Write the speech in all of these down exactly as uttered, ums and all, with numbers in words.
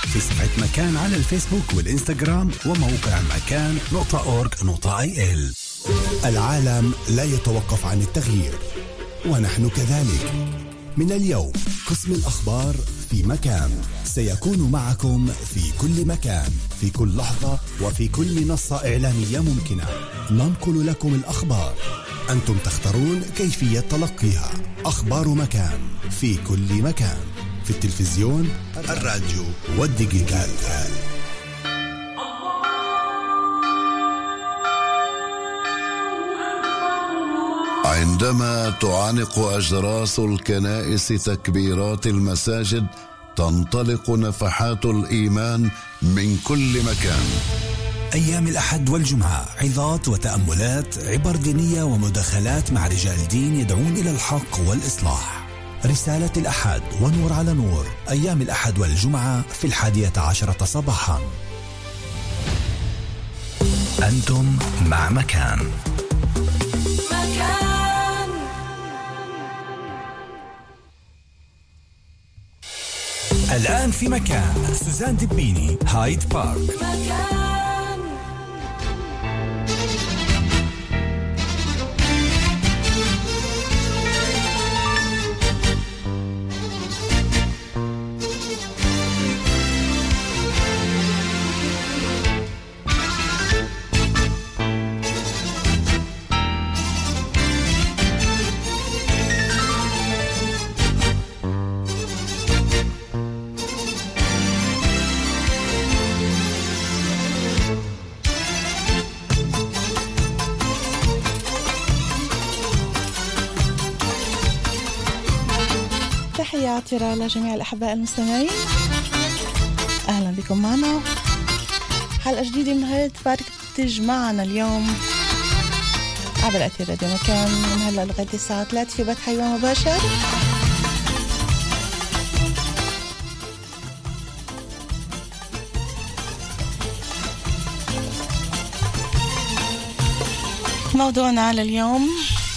في صفحة مكان على الفيسبوك والإنستغرام وموقع مكان نقطة أورج نقطة آي إل. العالم لا يتوقف عن التغيير ونحن كذلك. من اليوم قسم الأخبار في مكان سيكون معكم في كل مكان، في كل لحظة وفي كل منصة إعلامية ممكنة. ننقل لكم الأخبار، أنتم تختارون كيفية تلقيها. أخبار مكان في كل مكان، في التلفزيون، الراديو والديجيتال. عندما تعانق أجراس الكنائس تكبيرات المساجد، تنطلق نفحات الإيمان من كل مكان. أيام الأحد والجمعة عظات وتأملات، عبر دينية ومداخلات مع رجال دين يدعون إلى الحق والإصلاح. رسالة الأحد ونور على نور، أيام الأحد والجمعة في الحادية عشرة صباحا. أنتم مع مكان. مكان الآن في مكان سوزان دبيني، هايد بارك. مكان تحياتي لجميع الأحباء المستمعين، أهلا بكم معنا حلقة جديدة من هايد بارك تجمعنا اليوم عبر أثير راديو مكان من هلا لغاية الساعة ثلاثة في بث حيوان مباشر. موضوعنا لليوم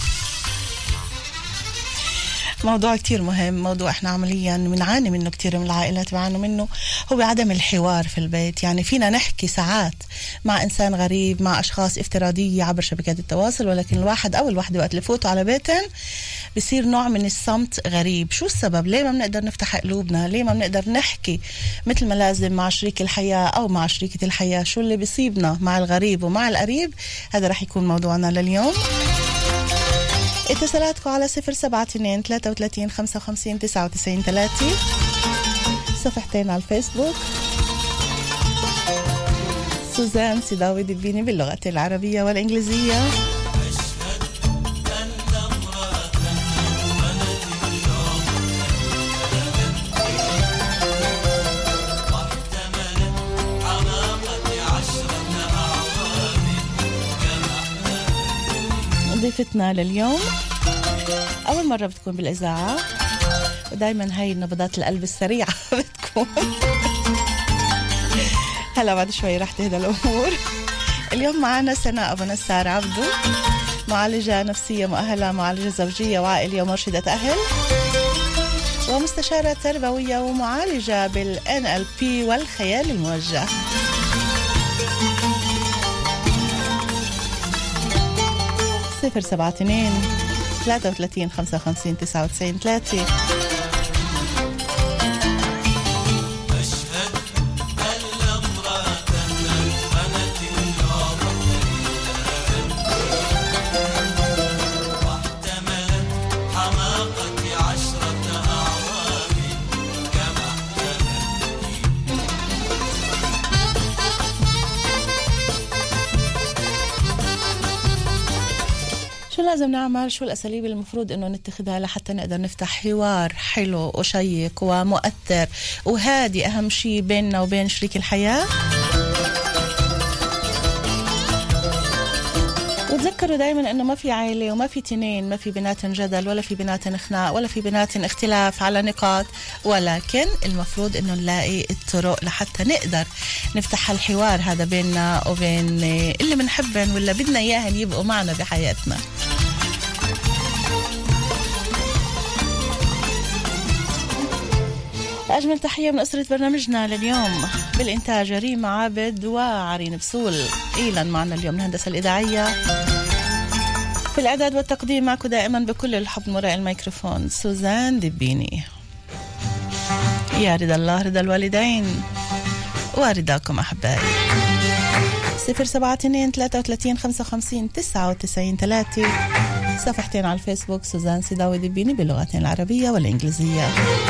موضوع كتير مهم، موضوع احنا عمليا بنعاني منه، كتير من العائلات بيعانوا منه، هو عدم الحوار في البيت. يعني فينا نحكي ساعات مع إنسان غريب، مع أشخاص افتراضية عبر شبكات التواصل، ولكن الواحد أو الواحدة وقت لفوتوا على بيتن بصير نوع من الصمت غريب. شو السبب؟ ليه ما بنقدر نفتح قلوبنا؟ ليه ما بنقدر نحكي مثل ما لازم مع شريك الحياة أو مع شريكة الحياة؟ شو اللي بيصيبنا مع الغريب ومع القريب؟ هذا رح يكون موضوعنا لليوم. اتصالاتكم على صفر سبعة اثنين ثلاثة وثلاثين خمسة وخمسين تسعة وتسعين ثلاثة، صفحتين على الفيسبوك سوزان سيداوي دبيني باللغة العربية والإنجليزية. ضيفتنا لليوم أول مرة بتكون بالإذاعة، ودايما هاي نبضات القلب السريعة بتكون هلا بعد شوي رح تهدى الأمور. اليوم معنا سناء أبو نسار عبدو، معالجة نفسية مؤهلة، معالجة زوجية وعائلية ومرشدة أهل، ومستشارة تربوية ومعالجة بال إن إل بي والخيال الموجه. صفر سبعة اثنين ثلاثة وثلاثين خمسة وخمسين تسعة وتسعين ثلاثة. لازم نعمل؟ شو الأساليب المفروض إنه نتخذها لحتى نقدر نفتح حوار حلو وشيق ومؤثر وهادي، أهم شيء بيننا وبين شريك الحياة؟ وتذكروا دايما إنه ما في عائلة وما في تنين، ما في بينات جدل ولا في بينات خناق ولا في بينات اختلاف على نقاط، ولكن المفروض إنه نلاقي الطرق لحتى نقدر نفتح الحوار هذا بيننا وبين اللي بنحبن ولا بدنا إياهن يبقوا معنا بحياتنا. فأجمل تحية من أسرة برنامجنا لليوم بالإنتاج ريم عابد وعرين بسول. إيلا معنا اليوم الهندسة الإذاعية، في الإعداد والتقديم معكم دائما بكل الحب من وراء الميكروفون سوزان دبيني. يا رضا الله رضا الوالدين ورضاكم أحبائي. صفر سبعة اثنين ثلاثة وثلاثين خمسة وخمسين تسعة وتسعين ثلاثة. صفحتين على الفيسبوك سوزان سيداوي دبيني باللغتين العربية والإنجليزية.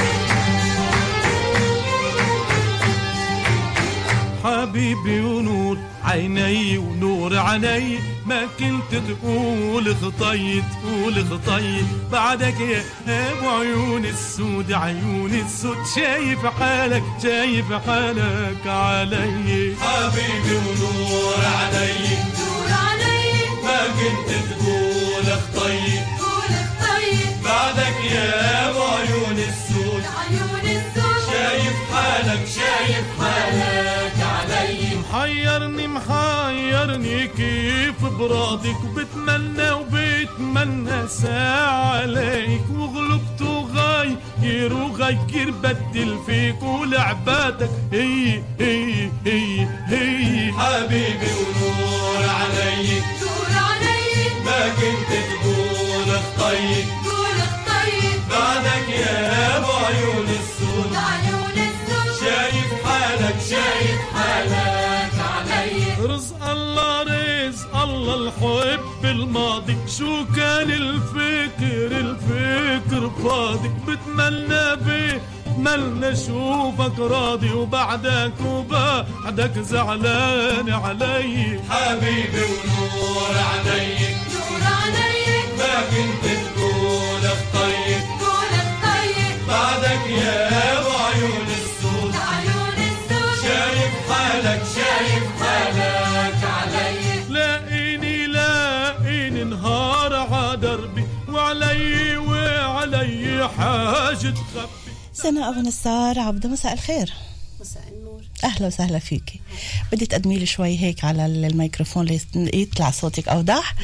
حبيبي ونور عيني ونور عيني، ما كنت تقول خطي تقول خطي بعدك يا ابو عيون السود عيون السود، شايف حالك شايف حالك علي. حبيبي ونور عيني نور عيني، ما كنت تقول خطي تقول خطي بعدك يا ابو عيون السود عيون السود، شايف حالك شايف حالك علي. محيرني محيرني كيف براضك، وبتمنى وبتمنى ساعة عليك، وغلبت وغير وغير بدل فيك ولعباتك هي هي هي هي. حبيبي ونور علي نور علي، ما كنت تقول خطي تقول خطي بعدك يا ابو عيون السود عيون السود، شايف حالك شايف حالك علي. رزق الله رزق الله الحب الماضي، شو كان الفكر الفكر فاضي، بتمنى بيه بتمنى شوفك راضي، وبعدك وبعدك زعلان علي. حبيبي ونور علي نور علي، ما كنت تقول خطي تقول خطي بعدك يا ابو عيون السود عيون السود، شايف حالك شايف حالك علي. لاقيني لاقيني نهار عدربي، وعلي وعلي حاجة تخبي. سنة أبو نصار عبده، مساء الخير. مساء النور. أهلا وسهلا فيكي. بدي تقدمي لي شوي هيك على الميكروفون ليطلع صوتك أوضح.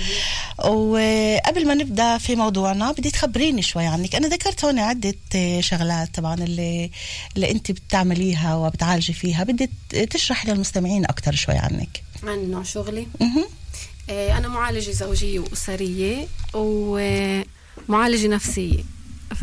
وقبل ما نبدأ في موضوعنا بدي تخبريني شوي عنك. أنا ذكرت هون عدة شغلات طبعا اللي اللي أنت بتعمليها وبتعالجي فيها، بدي تشرح للمستمعين أكتر شوي عنك. عن نوع شغلي. آه أنا معالجة زوجية وأسرية ومعالجة نفسية، ف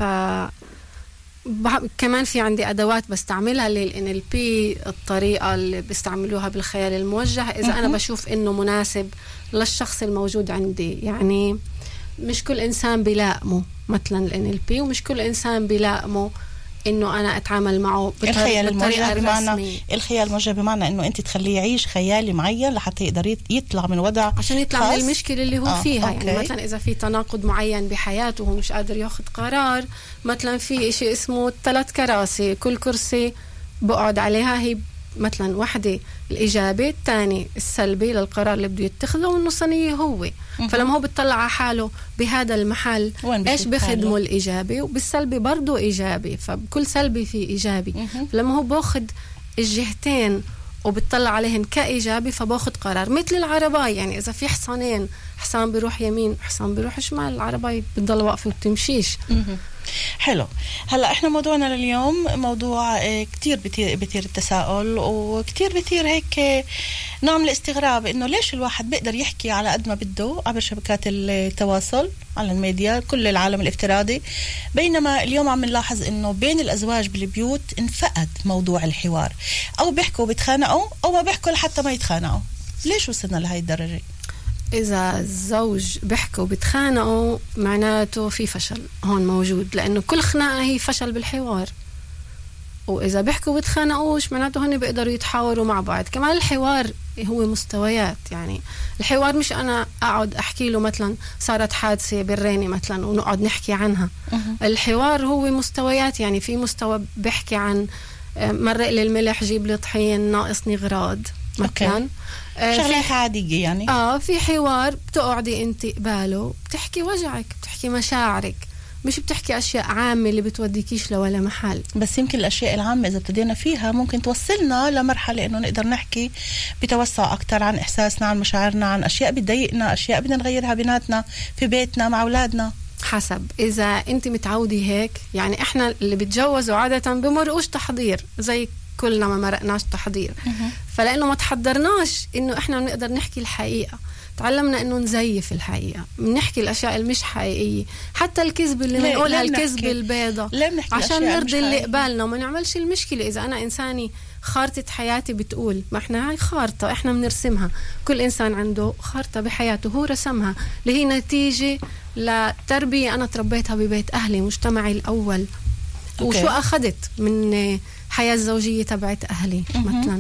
كمان في عندي أدوات بستعملها لل إن إل بي، الطريقة اللي بيستعملوها بالخيال الموجه إذا أنا بشوف إنه مناسب للشخص الموجود عندي. يعني مش كل إنسان بيلائمه مثلا ال إن إل بي، ومش كل إنسان بيلائمه إنه أنا أتعامل معه الخيال الموجه بمعنى الخيال الموجه بمعنى إنه أنت تخليه يعيش خيالي معين لحتى يقدر يطلع من وضع عشان يطلع خاص من المشكلة اللي هو آه. فيها. أوكي. يعني مثلا إذا في تناقض معين بحياته وهو مش قادر ياخد قرار، مثلا في إشي اسمه ثلاث كراسي، كل كرسي بقعد عليها هي مثلا واحدة الإيجابي، الثاني السلبي للقرار اللي بده يتخذه، والنصانية هو. فلما هو بيطلع على حاله بهذا المحل إيش بخدمه الإيجابي، وبالسلبي برضو إيجابي، فبكل سلبي في إيجابي. فلما هو باخد الجهتين وبتطلع عليهن كإيجابي فباخد قرار. مثل العرباية، يعني إذا في حصانين، حصان بيروح يمين حصان بيروح شمال، العرباية بتضل واقفة وبتمشيش. حلو. هلا احنا موضوعنا لليوم موضوع كتير بتير, بتير التساؤل، وكتير بتير هيك نوع من الاستغراب انه ليش الواحد بيقدر يحكي على قد ما بده عبر شبكات التواصل على الميديا، كل العالم الافتراضي، بينما اليوم عم نلاحظ انه بين الازواج بالبيوت انفقد موضوع الحوار، او بيحكوا بيتخانقوا او ما بيحكوا لحتى ما يتخانقوا. ليش وصلنا لهي الدرجة؟ إذا الزوج بيحكوا وبيتخانقوا معناته في فشل هون موجود، لأنه كل خناقة هي فشل بالحوار. وإذا بيحكوا وبيتخانقوش معناته هن بيقدروا يتحاوروا مع بعض. كمان الحوار هو مستويات، يعني الحوار مش أنا أقعد أحكي له مثلا صارت حادثة بالريني مثلا ونقعد نحكي عنها. الحوار هو مستويات، يعني في مستوى بيحكي عن مرق لي الملح جيب لي طحين ناقصني غراض مثلا، آه شغلات عادية يعني. اه في حوار بتقعدي انت قباله بتحكي وجعك، بتحكي مشاعرك، مش بتحكي أشياء عامة اللي بتوديكيش لولا محل. بس يمكن الأشياء العامة إذا ابتدينا فيها ممكن توصلنا لمرحلة إنه نقدر نحكي بتوسع أكتر عن إحساسنا، عن مشاعرنا، عن أشياء بتضايقنا، أشياء بدنا نغيرها بيناتنا في بيتنا مع أولادنا. حسب إذا أنت متعودي هيك. يعني إحنا اللي بتجوزوا عادة بمرقوش تحضير زي كلنا ما مرقناش تحضير. فلأنه ما تحضرناش إنه إحنا بنقدر نحكي الحقيقة، تعلمنا إنه نزيف الحقيقة، بنحكي الأشياء اللي مش حقيقية، حتى الكذب اللي بنقولها الكذب البيضة عشان نرضي اللي قبالنا وما نعملش المشكلة. إذا أنا إنساني خارطة حياتي بتقول، ما إحنا هاي خارطة إحنا بنرسمها، كل إنسان عنده خارطة بحياته هو رسمها اللي هي نتيجة لتربية أنا تربيتها ببيت أهلي، مجتمعي الأول. أوكي. وشو أخذت من حياة الزوجية تبعت أهلي. م-م. مثلا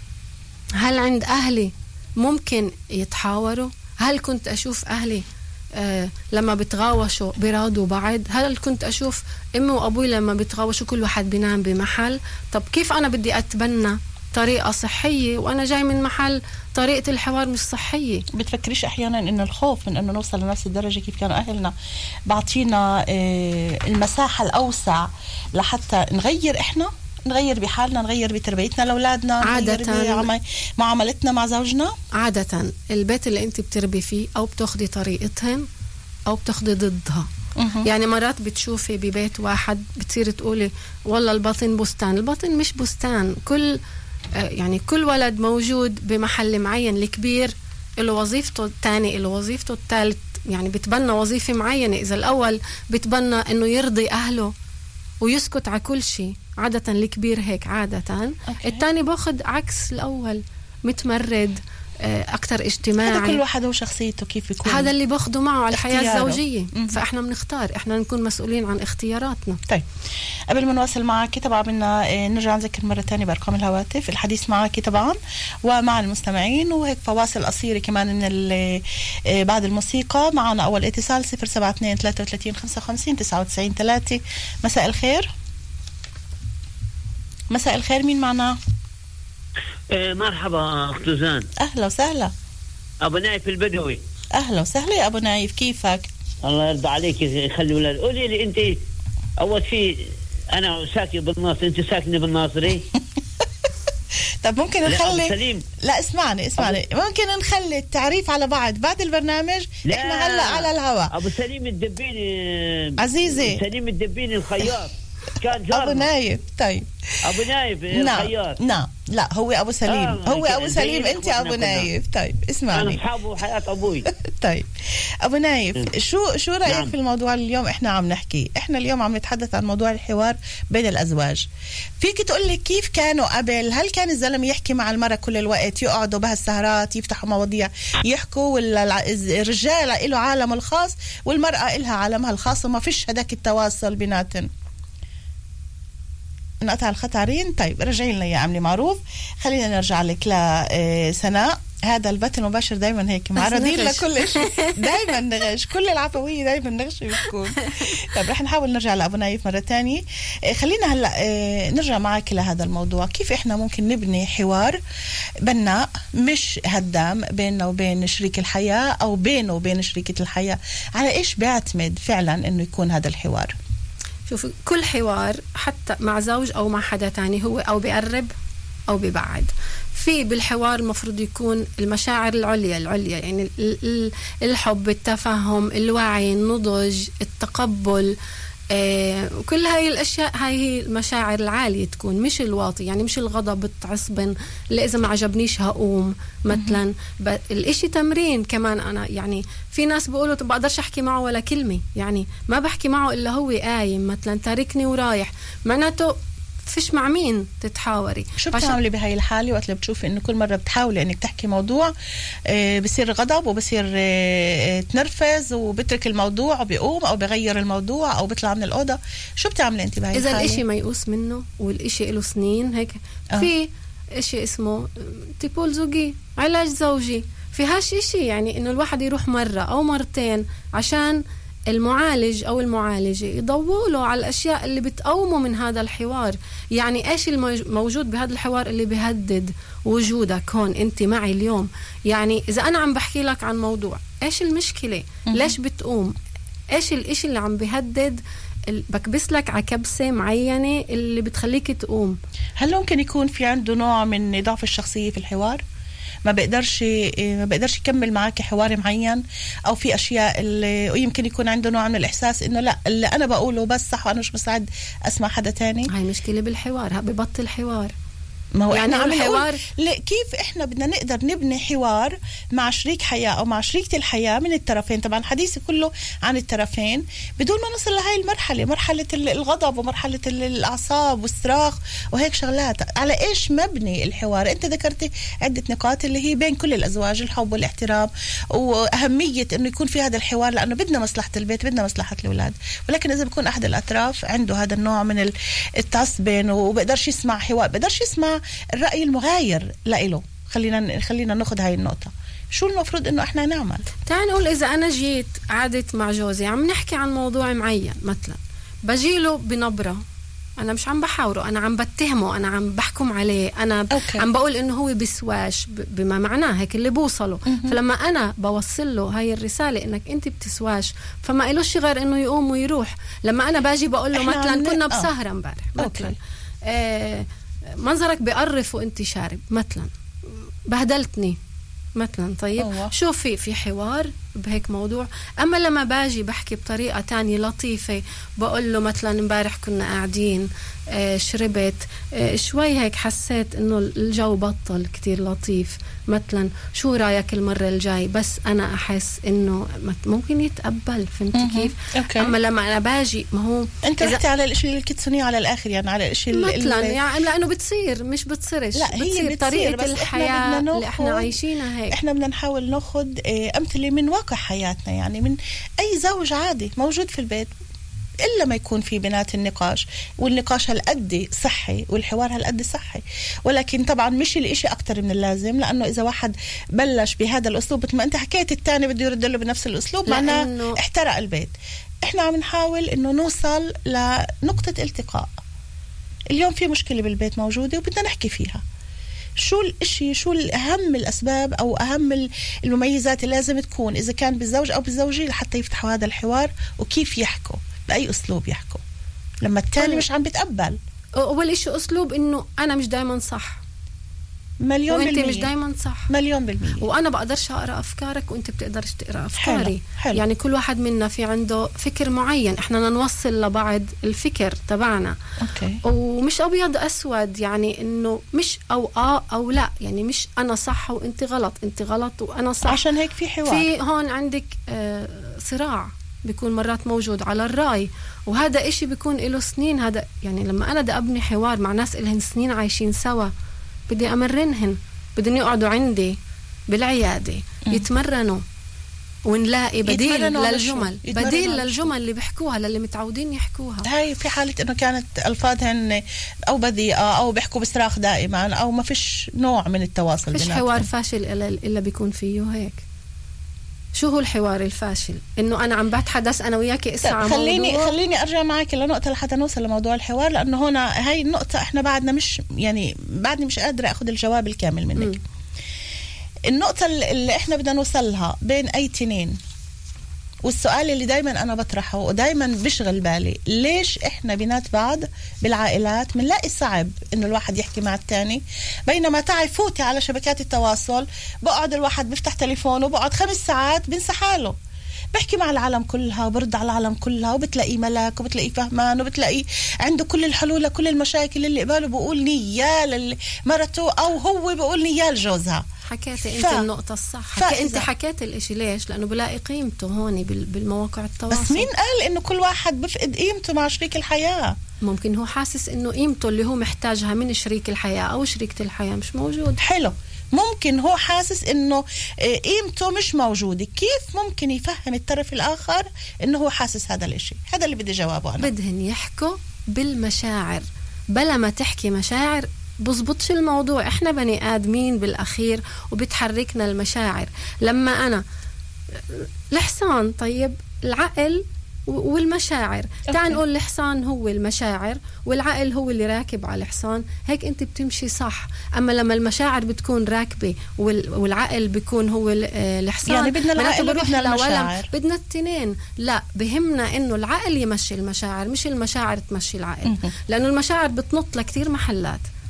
هل عند أهلي ممكن يتحاوروا؟ هل كنت أشوف أهلي آه لما بتغاوشوا بيراضوا بعض؟ هل كنت أشوف أمي وأبوي لما بتغاوشوا كل واحد بينام بمحل؟ طب كيف أنا بدي أتبنى طريقة صحية وأنا جاي من محل طريقة الحوار مش صحية؟ بتفكريش أحيانا إن الخوف من إنه نوصل لنفس الدرجة كيف كانوا أهلنا بعطينا آه المساحة الأوسع لحتى نغير إحنا، نغير بحالنا، نغير بتربيتنا لأولادنا، عادة معاملتنا مع زوجنا؟ عادة البيت اللي انت بتربي فيه أو بتاخدي طريقتهم أو بتاخدي ضدها. أه. يعني مرات بتشوفي ببيت واحد بتصير تقولي والله الباطن بستان، الباطن مش بستان. كل يعني كل ولد موجود بمحل معين، الكبير له وظيفته، الثاني له وظيفته، الثالث يعني بتبنى وظيفة معينة. إذا الأول بتبنى إنه يرضي أهله ويسكت على كل شيء، عادة الكبير هيك عادة. أوكي. الثاني باخد عكس الأول، متمرد أكتر اجتماعي. هذا كل واحد وشخصيته كيف يكون، هذا اللي باخده معه على الحياة الزوجية. م- فإحنا بنختار، إحنا نكون مسؤولين عن اختياراتنا. طيب قبل ما نواصل معك طبعا بدنا نرجع نذكر مرة تانية بأرقام الهواتف الحديث معك طبعا ومع المستمعين، وهيك فواصل قصيرة كمان من بعد الموسيقى. معنا أول اتصال صفر سبعة اثنين ثلاثة وثلاثين خمسة وخمسين تسعة وتسعين ثلاثة. مساء الخير. مساء الخير، مين معنا؟ إيه مرحبا أخت زان. أهلا وسهلا. أبو نايف البدوي. أهلا وسهلا يا أبو نايف، كيفك؟ الله يرضى عليك، يخلي ولاد. قولي لي أنت أول شيء، أنا ساكن بالناصر، أنت ساكنة بالناصري؟ طب ممكن نخلي سليم. لا اسمعني اسمعني أبو... ممكن نخلي التعريف على بعض بعد البرنامج. احنا هلا على الهواء. أبو سليم الدبيني عزيزي، سليم الدبيني الخياط كان جارنا. أبو نايف. طيب أبو نايف الخياط. نعم لا هو أبو سليم. آه هو أبو سليم، أنت أبو نايف. طيب اسمعني، أنا أصحابه حياة أبوي. طيب أبو نايف، م. شو شو رأيك نعم. في الموضوع اليوم إحنا عم نحكي؟ إحنا اليوم عم نتحدث عن موضوع الحوار بين الأزواج. فيك تقول لي كيف كانوا قبل؟ هل كان الزلمة يحكي مع المرأة كل الوقت، يقعدوا بهالسهرات يفتحوا مواضيع يحكوا، ولا الرجال له عالم الخاص والمرأة لها عالمها الخاص وما فيش هداك التواصل بيناتن؟ نقطع الخطارين. طيب رجعين لنا يا عملي معروف. خلينا نرجع لك لسناء. هذا البث المباشر دايما هيك معرضين لكل شيء، دايما نغش، كل العفوية دايما نغش بتكون. طيب رح نحاول نرجع لأبو نايف مرة تانية. خلينا هلأ نرجع معك لهذا الموضوع، كيف إحنا ممكن نبني حوار بناء مش هدام بيننا وبين شريك الحياة أو بينه وبين شريكة الحياة؟ على إيش بيعتمد فعلا إنه يكون هذا الحوار؟ شوف، كل حوار حتى مع زوج أو مع حدا تاني هو أو بيقرب أو بيبعد. في بالحوار المفروض يكون المشاعر العليا العليا يعني الحب، التفهم، الوعي، النضج، التقبل، آه، كل هاي الأشياء. هاي هي المشاعر العالية تكون، مش الواطي. يعني مش الغضب التعصبن اللي إذا ما عجبنيش هقوم مثلا. الإشي تمرين كمان. أنا يعني في ناس بيقولوا طب بقدرش أحكي معه ولا كلمة، يعني ما بحكي معه إلا هو قايم مثلا تاركني ورايح، معناته فيش مع مين تتحاوري. شو بتعملي بهاي الحالة وقت اللي بتشوفي إنه كل مرة بتحاولي إنك تحكي موضوع آه بصير غضب وبصير آه تنرفز وبترك الموضوع وبيقوم أو بغير الموضوع أو بيطلع من الأوضة؟ شو بتعملي أنت بهاي إذا الحالة؟ الإشي ميؤوس منه والإشي له سنين هيك آه. في إشي اسمه تيبول زوجي، علاج زوجي. في هاش إشي يعني إنه الواحد يروح مرة أو مرتين عشان المعالج أو المعالجة يضوّله على الأشياء اللي بتقومه من هذا الحوار. يعني إيش الموجود بهذا الحوار اللي بيهدد وجودك هون أنت معي اليوم؟ يعني إذا أنا عم بحكي لك عن موضوع، إيش المشكلة؟ ليش بتقوم؟ إيش الإشي اللي عم بيهدد بكبس لك على كبسة معينة اللي بتخليك تقوم؟ هل ممكن يكون في عنده نوع من ضعف الشخصية في الحوار؟ ما بقدرش ما بقدرش يكمل معك حوار معين، او في اشياء اللي ويمكن يكون عنده نوع من الاحساس انه لا اللي انا بقوله بس صح وانا مش مستعد اسمع حدا تاني. هاي مشكله بالحوار، ببطل حوار. ما هو يعني احنا عم الحوار نقول كيف احنا بدنا نقدر نبني حوار مع شريك حياة او مع شريكة الحياة من الطرفين. طبعا حديثي كله عن الطرفين بدون ما نصل لهاي المرحلة، مرحلة الغضب ومرحلة الاعصاب والصراخ وهيك شغلات. على ايش مبني الحوار؟ انت ذكرتي عدة نقاط اللي هي بين كل الازواج، الحب والاحترام واهمية انه يكون في هذا الحوار، لانه بدنا مصلحة البيت، بدنا مصلحة الاولاد. ولكن اذا بيكون احد الاطراف عنده هذا النوع من التعصبين وبقدرش يسمع حوار، بقدرش يسمع الرأي المغاير لإله، خلينا خلينا ناخذ هاي النقطة. شو المفروض إنه إحنا نعمل؟ تعال نقول إذا أنا جيت قعدت مع جوزي عم نحكي عن موضوع معين، مثلا بجيله بنبرة، أنا مش عم بحاوره، أنا عم بتهمه، أنا عم بحكم عليه، أنا أوكي. عم بقول إنه هو بسواش بما معناه هيك اللي بوصله. م-م. فلما أنا بوصل له هاي الرسالة إنك أنت بتسواش، فما إلوش غير إنه يقوم ويروح. لما أنا باجي بقول له مثلا كنا بسهرة امبارح مثلا آه منظرك بقرف وانت شارب مثلا، بهدلتني مثلا. طيب أوه. شو في في حوار بهيك موضوع. اما لما باجي بحكي بطريقه تانية لطيفه، بقول له مثلا امبارح كنا قاعدين آه شربت آه شوي هيك حسيت انه الجو بطل كتير لطيف مثلا، شو رايك المره الجاي؟ بس انا احس انه ممكن يتقبل. فهمتي كيف؟ أوكي. اما لما انا باجي ما هو انت رحتي على الاشي الكتسوني على الاخر، يعني على الاشي مثلا يعني لانه بتصير مش بتصيرش، لا هي بتصير طريقه الحياه اللي احنا عايشينها هيك. احنا بدنا نحاول ناخذ امثله من واقع حياتنا، يعني من اي زوج عادي موجود في البيت، إلا ما يكون في بنات النقاش، والنقاش هالقد صحي والحوار هالقد صحي. ولكن طبعا مش الاشي أكتر من اللازم، لأنه إذا واحد بلش بهذا الأسلوب مثل ما أنت حكيت التاني بده يرد له بنفس الأسلوب، معناه احترق البيت. إحنا عم نحاول إنه نوصل لنقطة التقاء. اليوم في مشكلة بالبيت موجودة وبدنا نحكي فيها. شو الاشي، شو الأهم الأسباب أو أهم المميزات اللي لازم تكون إذا كان بالزوج أو بالزوجة لحتى يفتحوا هذا الحوار، وكيف يحكوا، بأي أسلوب يحكوا لما التاني مش عم بتقبل. أول إشي أسلوب إنه أنا مش دايما صح، مليون وانت بالمية، مش دايما صح مليون بالمية، وانا بقدرش اقرا افكارك وانت بتقدرش تقرا افكاري. حلو. حلو. يعني كل واحد منا في عنده فكر معين، احنا بدنا نوصل لبعض الفكر تبعنا. اوكي. ومش ابيض اسود، يعني انه مش او اه او لا، يعني مش انا صح وانت غلط، انت غلط وانا صح. عشان هيك في حوار، في هون عندك آه صراع بيكون مرات موجود على الرأي، وهذا اشي بيكون له سنين. هذا يعني لما انا بدي ابني حوار مع ناس إلهن سنين عايشين سوا، بدي امرنهن، بدهم يقعدوا عندي بالعيادة م. يتمرنوا ونلاقي بديل للجمل، بديل للجمل اللي بيحكوها للي متعودين يحكوها. هاي في حالة انه كانت الفاظهن او بذيئة او بيحكوا بصراخ دائما او ما فيش نوع من التواصل. فيش حوار فاشل الا الا بيكون فيه هيك. شو هو الحوار الفاشل؟ انه انا عم بتحدث انا وياك اسمع خليني موضوع. خليني ارجع معك لنقطه لحتى نوصل لموضوع الحوار، لانه هنا هاي النقطه احنا بعدنا مش يعني بعدني مش قادره اخذ الجواب الكامل منك. م. النقطه اللي احنا بدنا نوصلها بين اي تنين، والسؤال اللي دايما انا بطرحه ودايما بشغل بالي، ليش احنا بينات بعض بالعائلات بنلاقي صعب انه الواحد يحكي مع الثاني، بينما تعي فوتي على شبكات التواصل بقعد الواحد بيفتح تليفونه وبقعد خمس ساعات بنسى حاله، بحكي مع العالم كلها وبرد على العالم كلها، وبتلاقيه ملاك وبتلاقيه فهمان وبتلاقيه عنده كل الحلول لكل المشاكل اللي قباله، بقول نيال مرته او هو بقول نيال جوزها. حكيتي انت ف... النقطة الصح، حكي انت حكيت الاشي. ليش؟ لانه بلاقي قيمته هون بالمواقع التواصل. بس مين قال انه كل واحد بفقد قيمته مع شريك الحياة؟ ممكن هو حاسس انه قيمته اللي هو محتاجها من شريك الحياة او شريكة الحياة مش موجود. حلو، ممكن هو حاسس انه قيمته مش موجودة. كيف ممكن يفهم الطرف الاخر انه هو حاسس هذا الاشي؟ هذا اللي بدي جوابه انا. بدهن يحكوا بالمشاعر، بلا ما تحكي مشاعر بزبطش الموضوع. احنا بني آدمين بالأخير وبتحركنا المشاعر. لما أنا الحصان، طيب العقل والمشاعر، تعال نقول الحصان هو المشاعر والعقل هو اللي راكب على الحصان، هيك انت بتمشي صح. اما لما المشاعر بتكون راكبة والعقل بيكون هو الحصان، يعني بدنا العقل وبدنا المشاعر، بدنا التنين. لا، بهمنا انه العقل يمشي المشاعر مش المشاعر تمشي العقل، لانه المشاعر بتنط لكتير محلات.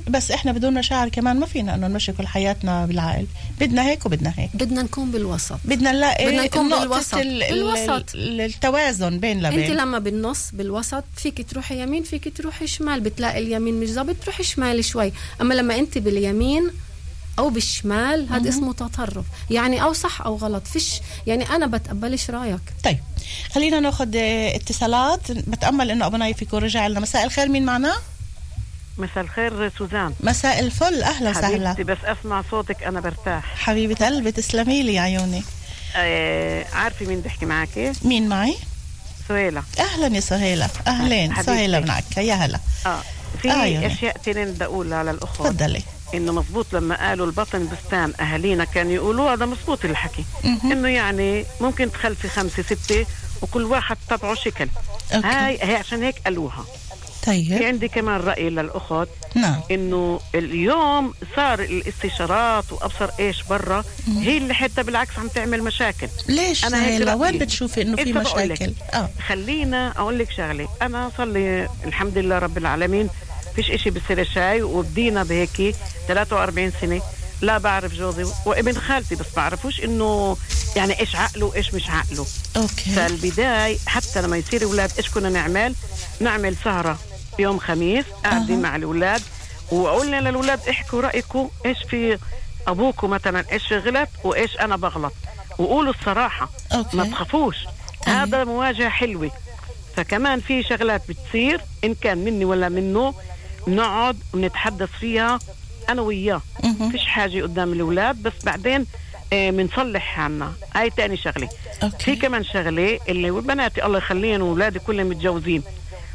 بس احنا بدون مشاعر كمان ما فينا انه نمشي كل حياتنا بالعقل، بدنا هيك وبدنا هيك، بدنا نكون بالوسط، بدنا نلاقي بدنا نكون بالوسط. ال بالوسط التوازن بين لبين. انت لما بالنص بالوسط فيك تروحي يمين فيك تروحي شمال، بتلاقي اليمين مش ظابط تروحي شمال شوي، اما لما انت باليمين او بالشمال هذا اسمه تطرف، يعني او صح او غلط فيش، يعني انا بتقبلش رايك. طيب خلينا ناخذ اتصالات، بتامل انه ابو نايف يكون رجع لنا. مساء الخير، مين معنا؟ مساء الخير سوزان. مساء الفل، اهلا وسهلا حبيبتي، بس اسمع صوتك انا برتاح. حبيبه قلبي تسلمي لي يا عيوني. آه عارفه مين بحكي معك؟ مين معي؟ سهيلة. اهلا يا سهيلة. اهلين سهيلة معك، يا هلا. اه في آه اشياء تانية بدي اقولها للاخوات. تفضلي. انه مزبوط لما قالوا البطن بستان اهالينا كانوا يقولوا هذا مزبوط الحكي، انه يعني ممكن تخلفي خمسة ستة وكل واحد تبعه شكل. أوكي. هاي هي عشان هيك قالوها. طيب في عندي كمان رأي للأخوات. نعم. إنه اليوم صار الاستشارات وأبصر إيش برا هي اللي حتى بالعكس عم تعمل مشاكل. ليش أنا هيك؟ وين بتشوفي إنه في مشاكل؟ آه. خلينا أقول لك شغلة، أنا صار لي الحمد لله رب العالمين فيش إشي بصير شاي، وبدينا بهيك ثلاثة وأربعين سنة لا بعرف جوزي وابن خالتي، بس بعرفوش إنه يعني إيش عقله وإيش مش عقله. أوكي. فالبداية حتى لما يصير أولاد إيش كنا نعمل؟ نعمل سهرة يوم خميس قاعدين أه. مع الأولاد وقلنا للأولاد احكوا رأيكم إيش في أبوكم مثلا إيش غلط وإيش أنا بغلط، وقولوا الصراحة. أوكي. ما تخافوش. أه. هذا مواجهة حلوة. فكمان في شغلات بتصير إن كان مني ولا منه نقعد ونتحدث فيها أنا وياه. فيش حاجة قدام الأولاد، بس بعدين بنصلح عنا. هاي تاني شغلة. أوكي. في كمان شغلة اللي بناتي الله يخليهم وولادي كلهم متجوزين،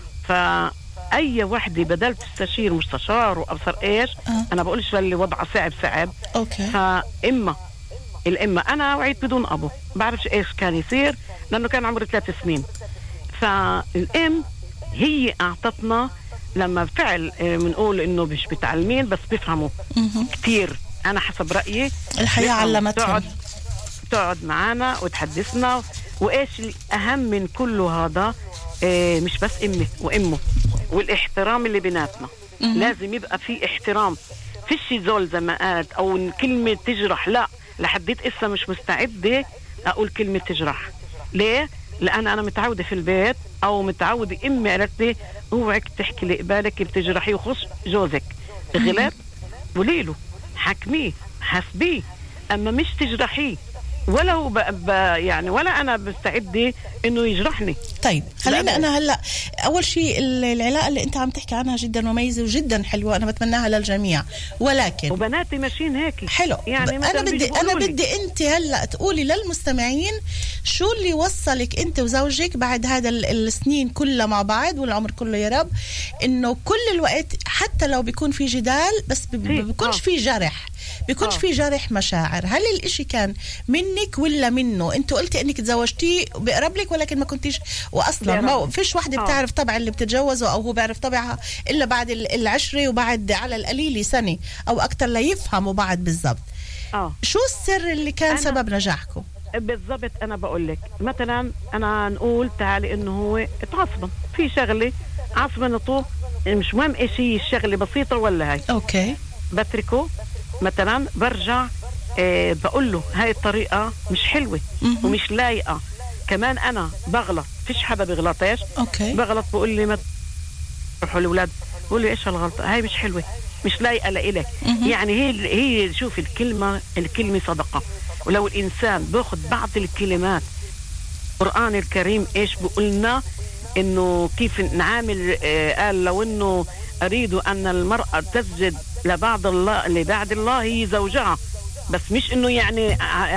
فأي وحدة بدل تستشير مستشار وأبصر إيش. أه. أنا بقولش للي وضعه صعب صعب. أوكي. فإما الإما أنا وعيت بدون أبو بعرفش إيش كان يصير لأنه كان عمري ثلاث سنين. فالإم هي أعطتنا لما فعل بنقول إنه مش بتعلمين بس بيفهموا كتير. أنا حسب رأيي الحياة علمتهم. تقعد تقعد معنا وتحدثنا، وإيش الأهم من كله هذا إيه مش بس أمي وأمه والاحترام اللي بيناتنا. لازم يبقى في احترام، فيش زول زي ما قالت أو كلمة تجرح. لا، لحديت إسا مش مستعدة أقول كلمة تجرح. ليه؟ لأن أنا متعودة في البيت أو متعودة أمي قالت لي اوعك تحكي لقبالك بتجرحي وخص جوزك غلط وليله حكميه حسبيه، أما مش تجرحيه ولا هو ب... ب... يعني ولا أنا بستعدي إنه يجرحني. طيب خلينا أنا هلأ أول شيء العلاقة اللي أنت عم تحكي عنها جدا مميزة وجدا حلوة، أنا بتمناها للجميع، ولكن وبناتي ماشيين هيك حلو. يعني أنا بدي أنا بدي أنت هلأ تقولي للمستمعين شو اللي وصلك أنت وزوجك بعد هذا السنين كلها مع بعض والعمر كله يا رب، إنه كل الوقت حتى لو بيكون في جدال بس بيكونش في جرح، بيكونش في جرح مشاعر. هل الاشي كان منك ولا منه؟ انتوا قلتي انك تزوجتيه بقرب لك ولكن ما كنتيش، واصلا ما فيش وحده بتعرف طبع اللي بتتجوزه او هو بيعرف طبعها الا بعد العشره وبعد على القليل سنه او اكثر ليفهموا بعض بالضبط. اه شو السر اللي كان سبب نجاحكم؟ بالضبط انا بقول لك مثلا انا نقول تعالي انه هو اتعصبن في شغله عصبنته، مش مهم ايش هي الشغله بسيطه ولا هاي. اوكي. بتركه مثلا برجع آه بقول له هاي الطريقة مش حلوة ومش لايقة. كمان أنا بغلط، فيش حدا بغلطاش. أوكي. بغلط بقول لي ما تروحوا الأولاد بقول لي إيش الغلطة هاي مش حلوة مش لايقة لإلك. يعني هي هي شوف الكلمة الكلمة صدقة، ولو الإنسان باخد بعض الكلمات القرآن الكريم إيش بقولنا إنه كيف نعامل. آه قال لو إنه أريد أن المرأة تسجد لبعض الله لبعد الله هي زوجها، بس مش إنه يعني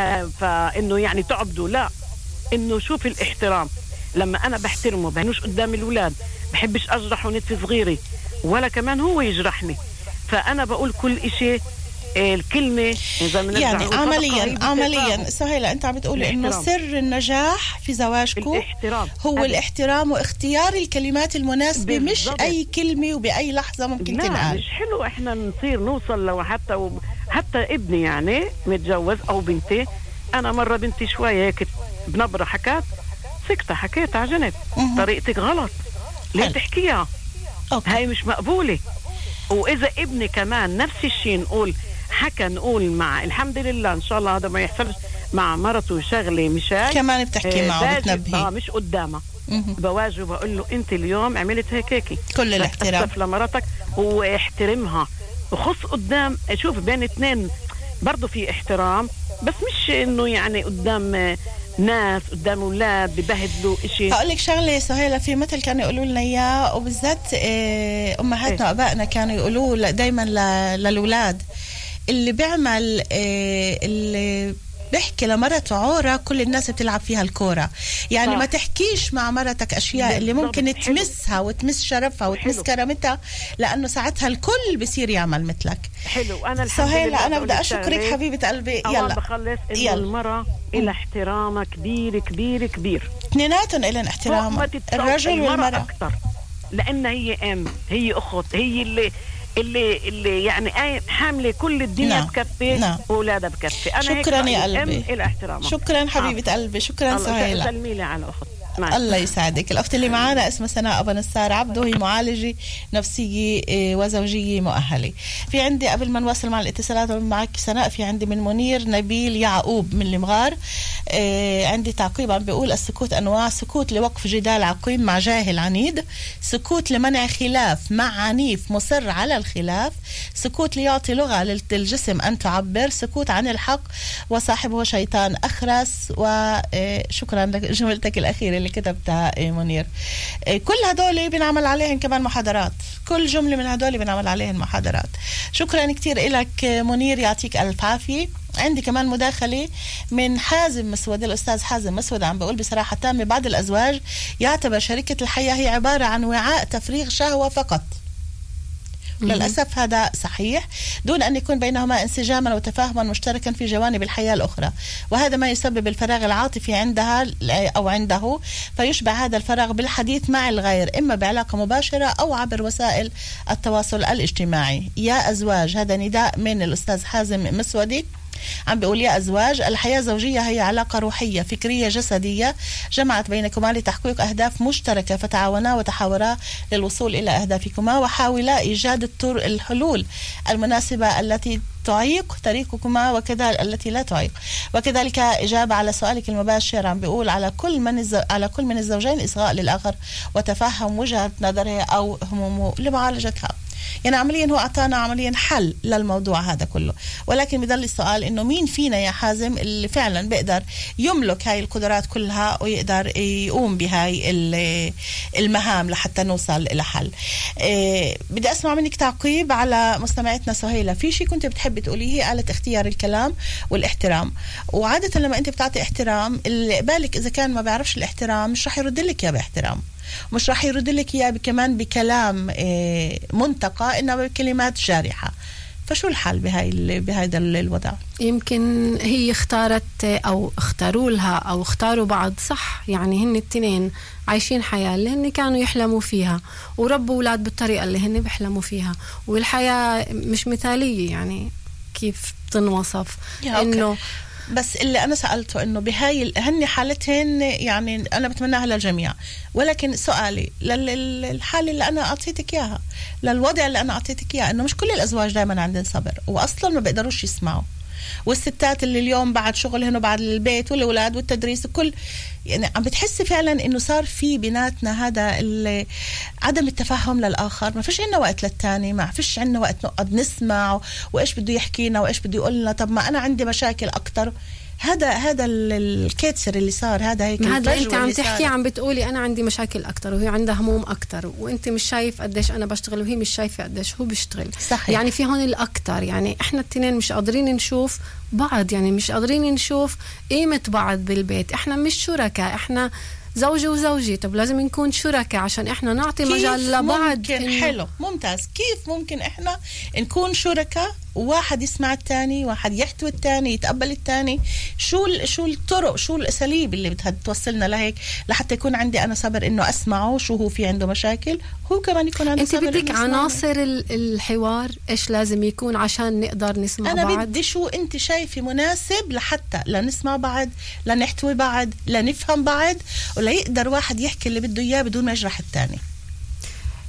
فإنه يعني تعبدوا، لا إنه شوف الاحترام. لما أنا بحترمه بهنوش قدام الأولاد، بحبش أجرح ونتفي صغيري ولا كمان هو يجرحني. فأنا بقول كل إشي الكلمة يعني عمليا عمليا سهيلة أنت عم بتقولي إنه سر النجاح في زواجكم الاحترام. هو أبدا. الاحترام واختيار الكلمات المناسبة بالضبط. مش أي كلمة وبأي لحظة ممكن تنقال. مش حلو إحنا نصير نوصل لو حتى و... حتى ابني يعني متجوز أو بنتي، أنا مرة بنتي شوية هيك بنبرة حكات سكتة حكيت عجنت طريقتك غلط ليه حل. تحكيها أوكي. هاي مش مقبولة. واذا ابني كمان نفس الشيء نقول حكى نقول مع الحمد لله ان شاء الله هذا ما يحصلش مع مرته شغله مشان كمان بتحكي معه بتنبهي اه مش قدامها بواجه بقول له انت اليوم عملت هيك هيك كل الاحترام لمرتك واحترمها وخص قدام شوف بين اثنين برضو في احترام بس مش انه يعني قدام ناس قدام اولاد ببهدلوا شيء. هقول لك شغله سهيله في مثل كانوا يقولوا لنا اياه وبالذات امهاتنا وابائنا كانوا يقولوا دائما للاولاد اللي بيعمل اللي بيحكي لمرته عورة كل الناس بتلعب فيها الكورة يعني صح. ما تحكيش مع مرتك أشياء اللي ممكن تمسها وتمس شرفها وتمس كرامتها لأنه ساعتها الكل بصير يعمل مثلك. حلو أنا سهيلة أنا بدي أشكرك حبيبة قلبي. يلا بخلص إنه المرأة إلى احترامها كبير كبير كبير اثنيناتهم إلى احترام الرجل والمرأة أكتر لأن هي أم هي أخت هي اللي اللي اللي يعني حامله كل الدنيا نعم. بكفي نعم. واولادها بكفي. انا شكرا يا قلبي الاحترام. شكرا حبيبه آه. قلبي شكرا سهيله. سلمي لي على اخت. الله يسعدك. الاخت اللي معانا اسمها سناء ابو نصار عبده هي معالجه نفسية وزوجيه مؤهله. في عندي قبل ما نواصل مع الاتصالات معك سناء في عندي من منير نبيل يعقوب من المغار. عندي تعقيب عم بيقول السكوت انواع: سكوت لوقف جدال عقيم مع جاهل عنيد، سكوت لمنع خلاف مع عنيف مصر على الخلاف، سكوت ليعطي لغه للجسم ان تعبر، سكوت عن الحق وصاحبه شيطان اخرس. وشكرا لجملتك الاخيره اللي كتبتها منير. كل هدول بنعمل عليهم كمان محاضرات، كل جملة من هدول بنعمل عليهم محاضرات. شكرا كتير لك منير يعطيك ألف عافية. عندي كمان مداخلة من حازم مسود. الأستاذ حازم مسود عم بقول بصراحة تامة بعض الأزواج يعتبر شريكة الحياة هي عبارة عن وعاء تفريغ شهوة فقط. للأسف هذا صحيح دون أن يكون بينهما انسجاما وتفاهما مشتركا في جوانب الحياة الأخرى، وهذا ما يسبب الفراغ العاطفي عندها أو عنده، فيشبع هذا الفراغ بالحديث مع الغير إما بعلاقة مباشرة أو عبر وسائل التواصل الاجتماعي. يا أزواج، هذا نداء من الأستاذ حازم مسودي عم بيقول: يا أزواج، الحياة الزوجية هي علاقة روحية فكرية جسدية جمعت بينكما لتحقيق أهداف مشتركة، فتعاونا وتحاورا للوصول إلى أهدافكما وحاولا إيجاد الطرق الحلول المناسبة التي تعيق طريقكما وكذلك التي لا تعيق. وكذلك إجابة على سؤالك المباشر عم بيقول: على كل من الزو... على كل من الزوجين إصغاء للآخر وتفهم وجهة نظره أو همومه لمعالجتها. يعني عمليا هو أعطانا عمليا حل للموضوع هذا كله، ولكن بضل السؤال إنه مين فينا يا حازم اللي فعلا بيقدر يملك هاي القدرات كلها ويقدر يقوم بهاي المهام لحتى نوصل إلى حل. إيه بدي أسمع منك تعقيب على مستمعتنا سهيلة. في شيء كنت بتحبي تقوليه؟ قالت اختيار الكلام والاحترام، وعادة لما أنت بتعطي احترام اللي بالك إذا كان ما بيعرفش الاحترام مش رح يرد لك يا باحترام، مش راح يرد لك اياه كمان بكلام منتقى انما بكلمات جارحه. فشو الحل بهاي بهذا الوضع؟ يمكن هي اختارت او اختاروا لها او اختاروا بعض، صح؟ يعني هن التنين عايشين حياه اللي هن كانوا يحلموا فيها وربوا اولاد بالطريقه اللي هن بيحلموا فيها، والحياه مش مثاليه يعني كيف تنوصف انه. بس اللي أنا سألته إنه بهاي هني حالتهن يعني أنا بتمناها للجميع، ولكن سؤالي للحالة اللي أنا أعطيتك إياها، للوضع اللي أنا أعطيتك إياه، إنه مش كل الأزواج دائما عندهم صبر وأصلا ما بيقدروش يسمعوا، والستات اللي اليوم بعد شغلهن وبعد البيت والأولاد والتدريس وكل يعني عم بتحسي فعلا إنه صار في بيناتنا هذا عدم التفهم للآخر، ما فيش عنا وقت للتاني، ما فيش عنا وقت نقعد نسمع وإيش بده يحكينا وإيش بده يقولنا. طب ما أنا عندي مشاكل أكتر. هذا هذا الكيتسر اللي صار، هذا هيك هذا انت عم تحكي عم بتقولي انا عندي مشاكل اكتر وهي عندها هموم اكتر، وانت مش شايف قديش انا بشتغل وهي مش شايفه قديش هو بيشتغل. صحيح. يعني في هون الاكتر، يعني احنا التنين مش قادرين نشوف بعض، يعني مش قادرين نشوف قيمه بعض بالبيت. احنا مش شركاء، احنا زوجي وزوجي. طب لازم نكون شركاء عشان احنا نعطي مجال لبعض. ممكن حلو ممتاز. كيف ممكن احنا نكون شركاء وواحد يسمع الثاني، واحد يحتوي الثاني، يتقبل الثاني؟ شو شو الطرق، شو الاساليب اللي بدها توصلنا لهيك لحتى يكون عندي انا صبر انه اسمعه شو هو في عنده مشاكل، هو كمان يكون عنده انت صبر. انت بدك عناصر الحوار ايش لازم يكون عشان نقدر نسمع أنا بعض. انا بدي شو انت شايفه مناسب لحتى لنسمع بعض، لنحتوي بعض، لنفهم بعض، ولا يقدر واحد يحكي اللي بده اياه بدون ما يجرح الثاني.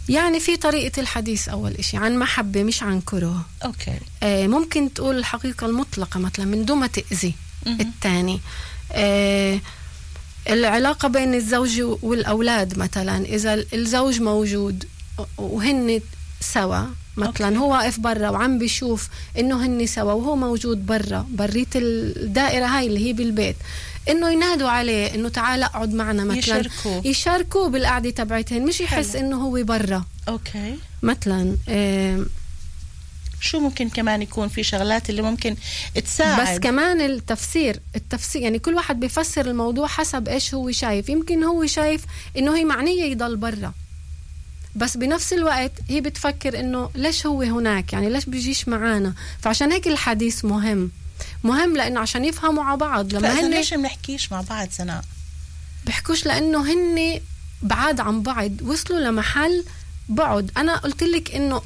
يعني في طريقة الحديث أول إشي عن محبة مش عن كره. أوكي. آه ممكن تقول الحقيقة المطلقة مثلا من دون ما تأذي الثاني. آه العلاقة بين الزوج والأولاد مثلا، إذا الزوج موجود وهن سوا مثلا، أوكي. هو واقف برا وعم بيشوف إنه هن سوا وهو موجود برا بريت الدائرة هاي اللي هي بالبيت، إنه ينادوا عليه إنه تعال اقعد معنا مثلا، يشاركوا يشاركوا بالقعدة تبعتهن، مش يحس حلو. إنه هو برا. أوكي. مثلا آه شو ممكن كمان يكون في شغلات اللي ممكن تساعد؟ بس كمان التفسير التفسير يعني كل واحد بيفسر الموضوع حسب إيش هو شايف. يمكن هو شايف إنه هي معنية يضل برا، بس بنفس الوقت هي بتفكر إنه ليش هو هناك، يعني ليش بيجيش معانا. فعشان هيك الحديث مهم مهم لأنه عشان يفهموا مع بعض. لما هن ليش بنحكيش مع بعض سناء؟ بحكوش لأنه هن بعاد عن بعض، وصلوا لمحل بعد. أنا قلت لك إنه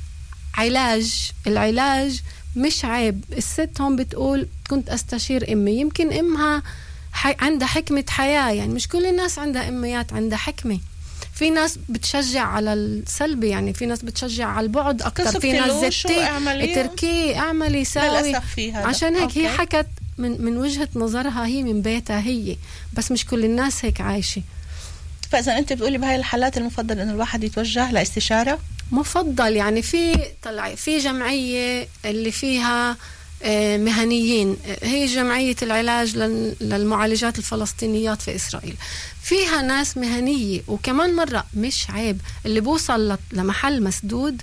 علاج العلاج مش عيب. الست هون بتقول كنت أستشير أمي، يمكن أمها حي... عندها حكمة حياة، يعني مش كل الناس عندها أميات عندها حكمة. في ناس بتشجع على السلبي، يعني في ناس بتشجع على البعد أكتر، في ناس زتي تركي اعملي ساوي. عشان هيك أوكي. هي حكت من, من وجهة نظرها، هي من بيتها هي، بس مش كل الناس هيك عايشة. فإذا أنت بتقولي بهاي الحالات المفضل إنه الواحد يتوجه لاستشارة؟ مفضل يعني في طلع في جمعية اللي فيها مهنيين، هي جمعية العلاج للمعالجات الفلسطينيات في إسرائيل، فيها ناس مهنية. وكمان مرة مش عيب اللي بوصل لمحل مسدود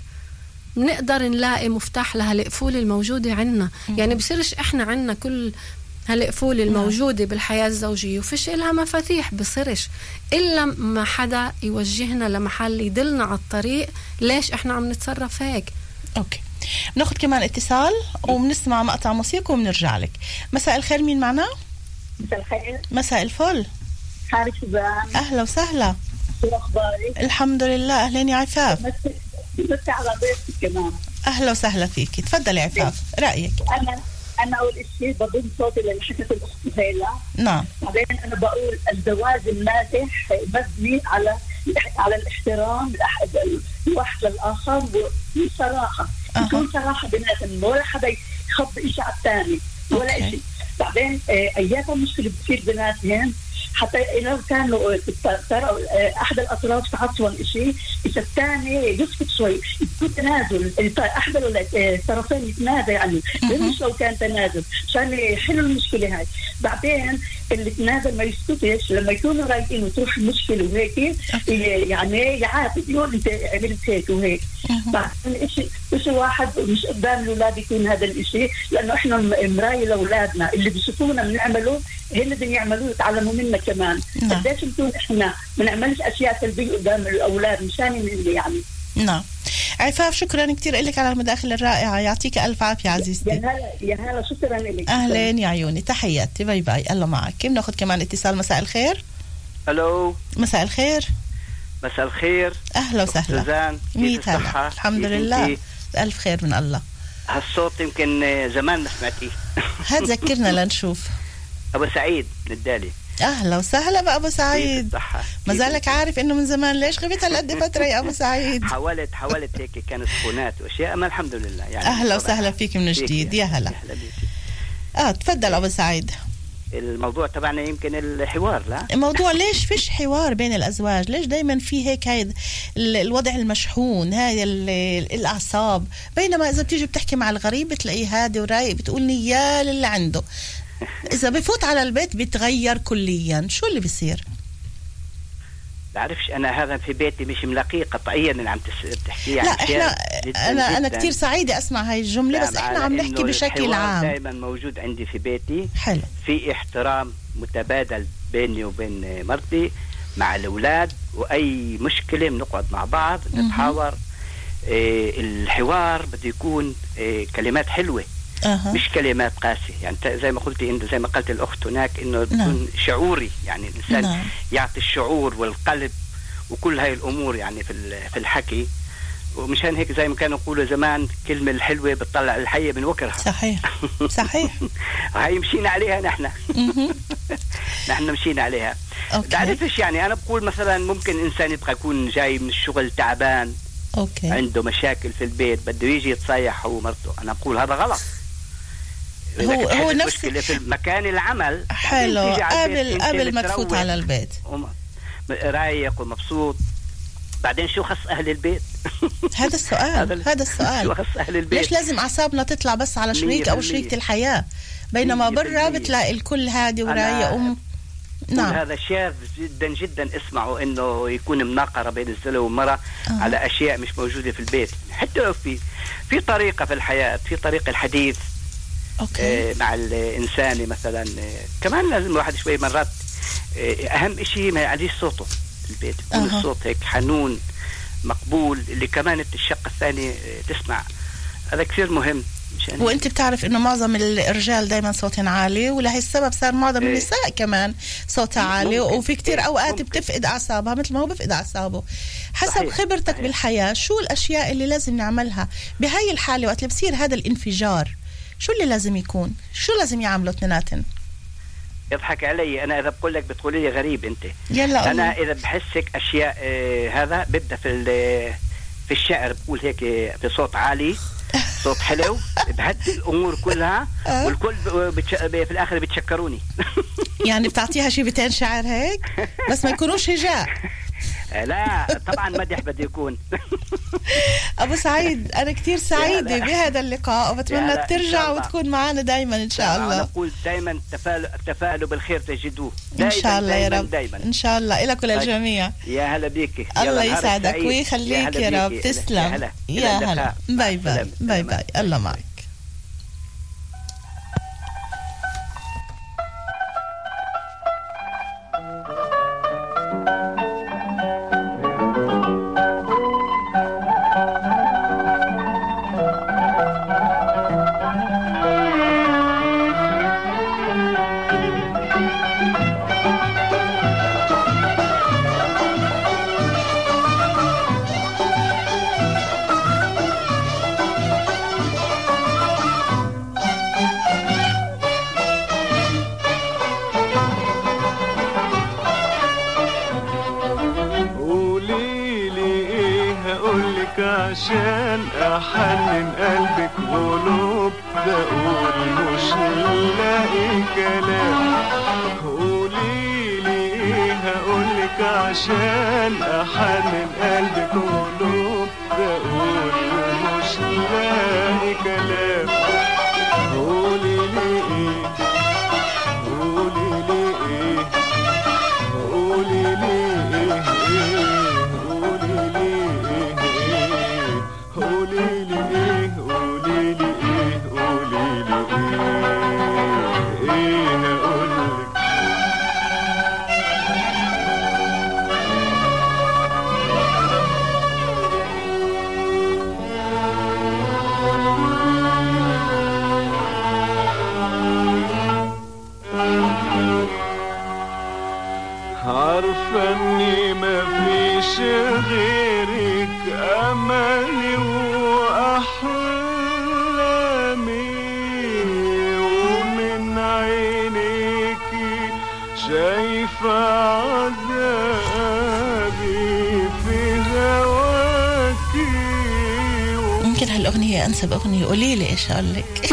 نقدر نلاقي مفتاح لها القفول الموجودة عنا. يعني بصيرش إحنا عنا كل هالقفول الموجودة بالحياة الزوجية وفيش إلها مفاتيح، بصيرش إلا ما حدا يوجهنا لمحل يدلنا على الطريق ليش إحنا عم نتصرف هيك. أوكي، بناخد كمان اتصال وبنسمع مقطع موسيقى وبنرجع لك. مساء الخير، مين معنا؟ مساء الخير. مساء الفل. حالك شبان؟ أهلا وسهلا. شو أخبارك؟ الحمد لله. أهلين يا عفاف. بس على ضيفتك كمان. أهلا وسهلا فيكي، تفضلي عفاف. رأيك؟ أنا أنا أول شيء بضم صوتي اللي حكت الأخت هيلا. نعم. بعدين أنا بقول الزواج الناجح مبني على على الاحترام الواحد للآخر وبصراحة. يكون صراحة بيناتهم، ولا حدا يخبي إشي على الثاني ولا إشي. بعدين أيات المشكلة بتصير بيناتهم، حتى لو كانوا ترى أحد الأطراف تعصبا إشي، إذا الثاني يسكت شوي، يكون تنازل، أحد الطرفين يتنازل يعني، مش لو كان تنازل عشان يحلوا المشكلة هاي. بعدين اللي تنازل ما يسكتش لما يكونوا رايقين وتروح المشكلة وهيك، يعني يعاتب يقول أنت عملت هيك وهيك. بعدين إشي إشي واحد مش قدام الأولاد يكون هذا الإشي، لأنه إحنا مراية لأولادنا اللي بيشوفونا بنعمله هن بدهم يعملوه يتعلموا منا كمان. قديش نكون إحنا ما نعملش أشياء سلبية قدام الأولاد مشان اللي يعني. نعم. عفاف، شكرا كتير لك على المداخلة الرائعة، يعطيك ألف عافية عزيزتي. يا هلا يا هلا، شكرا لك. أهلين يا عيوني، تحياتي، باي باي، الله معك. بناخذ كمان اتصال. مساء الخير. ألو. مساء الخير. مساء الخير. أهلا وسهلا. سوزان، كيف الصحة؟ الحمد لله ألف خير من الله. هالصوت يمكن زمان ما سمعتيه. هتذكرنا لنشوف. أبو سعيد للدالي. أهلا وسهلا بأبو سعيد. ما زالك عارف إنه من زمان، ليش غبت هالقد فترة يا أبو سعيد؟ حاولت حاولت هيك، كانت سخونات وأشياء، ما الحمد لله يعني. أهلا وسهلا فيك من جديد. يا هلا. آه تفضل أبو سعيد. الموضوع تبعنا يمكن الحوار. لا الموضوع ليش فيش حوار بين الأزواج؟ ليش دايما في هيك هاي الوضع المشحون، هاي الأعصاب، بينما إذا بتيجي بتحكي مع الغريب بتلاقيه هادي ورايق، بتقول نيال اللي عنده. إذا بفوت على البيت بيتغير كليا. شو اللي بيصير؟ بعرفش أنا هذا في بيتي مش ملاقيه قطعيا اللي عم تحكي. لا إحنا جداً أنا جداً. أنا كتير سعيدة أسمع هاي الجملة، بس إحنا عم نحكي بشكل عام. دائما موجود عندي في بيتي. حلو. في احترام متبادل بيني وبين مرتي مع الأولاد، وأي مشكلة بنقعد مع بعض نتحاور. إيه الحوار بده يكون إيه كلمات حلوة. أه. مش كلمات قاسية، يعني زي ما قلتي انت، زي ما قلت الاخت هناك، انه يكون نعم. شعوري، يعني الانسان نعم. يعطي الشعور والقلب وكل هاي الامور يعني في في الحكي. ومشان هيك زي ما كانوا يقولوا زمان، كلمة الحلوة بتطلع الحية من وكرها. صحيح صحيح. هاي مشينا عليها نحن. نحن مشينا عليها. تعرفش يعني أنا بقول مثلا ممكن إنسان يبقى يكون جاي من الشغل تعبان أوكي. عنده مشاكل في البيت بده يجي يتصيح هو ومرته، أنا بقول هذا غلط. هو هو نفس في مكان العمل حلو قبل قبل ما تفوت على البيت رايق ومبسوط. بعدين شو خص أهل البيت؟ هذا السؤال هذا السؤال شو خص أهل البيت؟ ليش لازم أعصابنا تطلع بس على شريك أو شريكة الحياة بينما برا بتلاقي الكل هادي ورايق أم نعم. هذا شاذ جدا جدا اسمعوا انه يكون مناقره بين الزوج والمراه آه. على اشياء مش موجوده في البيت. حتى لو في في طريقه في الحياه، في طريقه الحديث أوكي. آه مع الانسان مثلا آه كمان لازم الواحد شوي مرات آه اهم شيء ما يعليش صوته في البيت، يكون آه. الصوت هيك حنون مقبول اللي كمان الشق الثاني آه تسمع. هذا كثير مهم. وانت بتعرف انه معظم الرجال دايما صوتهم عالي ولهي السبب صار معظم إيه. النساء كمان صوتها عالي ممكن. وفي كتير إيه. اوقات ممكن. بتفقد اعصابها مثل ما هو بفقد اعصابه. حسب صحيح. خبرتك صحيح. بالحياة شو الاشياء اللي لازم نعملها بهاي الحالة وقت اللي بصير هذا الانفجار؟ شو اللي لازم يكون؟ شو لازم يعملوا اثنيناتن؟ يضحك علي انا اذا بقول لك بتقولي لي غريب انت. يلا انا اذا بحسك اشياء آه هذا بدها في في الشعر بقول هيك في صوت عالي صوت حلو بهدي الامور كلها والكل بتش... في الاخر بتشكروني. يعني بتعطيها شيء بتين شعر هيك بس ما يكونوش هجاء. لا طبعا مدح بده يكون. ابو سعيد انا كثير سعيده بهذا اللقاء وبتمنى ترجع وتكون معنا دايما ان شاء الله. انا بقول دائما تفاءلوا تفاءلوا بالخير تجدوه ان شاء الله يا رب دايما. ان شاء الله لك وللجميع. يا هلا بيك. الله يسعدك ويخليك يا رب. تسلم يا هلا. باي باي باي باي. الله معك. عشان احنن قلبك قلوب بقول مش لاقي كلام. قوليلي ايه هقولك عشان احنن قلبك قلوب بقول مش لاقي كلام. قوليلي ايه قوليلي ايه قوليلي ايه قوليلي قوليلي ايه قوليلي ايه قوليلي ايه ايه هقولك. عارفة اني مفيش غيرك املي واحلامي ومن عينيكي شايفة عذابي في هواكي. يمكن هالاغنية انسب اغنية. قوليلي ايش اقولك.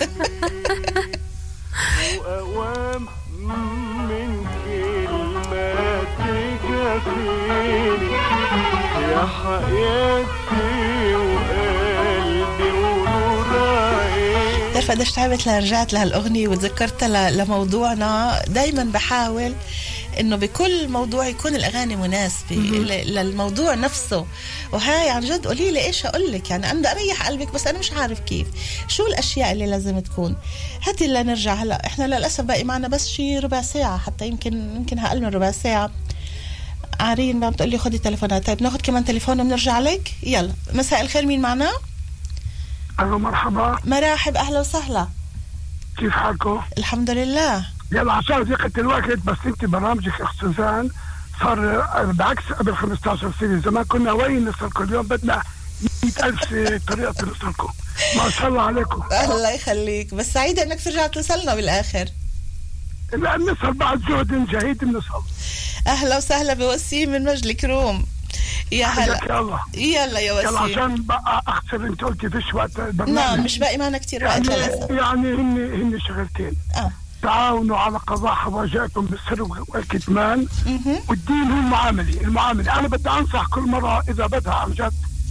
واوام من كلمات تكفيني يا حياتي وقلبي ونور عيني. بتعرف قديش تعبت لرجعت لهالاغنية وتذكرتها لموضوعنا. دايما بحاول انه بكل موضوع يكون الاغاني مناسبه للموضوع نفسه. وهاي عن جد قولي لي ايش اقول لك. يعني انا بدي اريح قلبك بس انا مش عارف كيف شو الاشياء اللي لازم تكون. هاتي اللي نرجع هلا. احنا للاسف باقي معنا بس شي ربع ساعه حتى يمكن يمكن اقل من ربع ساعه. عارين ما بتقول لي خدي تليفونات. طيب ناخذ كمان تليفون وبنرجع لك. يلا مساء الخير. مين معنا؟ الو مرحبا. مرحب اهلا وسهلا. كيف حالكم؟ الحمد لله. يلا عشان ضيقة الوقت بس انت برنامجك اخت سوزان صار بعكس قبل خمسة عشر سنة. زمان كنا وين نصلكم، اليوم بدنا مئة ألف طريقة نصلكم. ما شاء الله عليكم. الله يخليك. بس سعيدة انك رجعت توصلنا بالاخر. لا نصل بعد جهد جهيد بنصل. اهلا وسهلا بوسيم من مجلس كروم. يا هلا يلا يلا يا وسيم. يلا عشان بقى اخسر انت قلتي فيش وقت البرنامج. نعم مش باقي معنا كتير وقت يعني للاسف. يعني هن هن شغلتين. اه تعاونوا على قضاء حوائجكم بالسر والكتمان، والدين هو المعامله، المعامله انا بدي انصح كل مره اذا بدها عن جد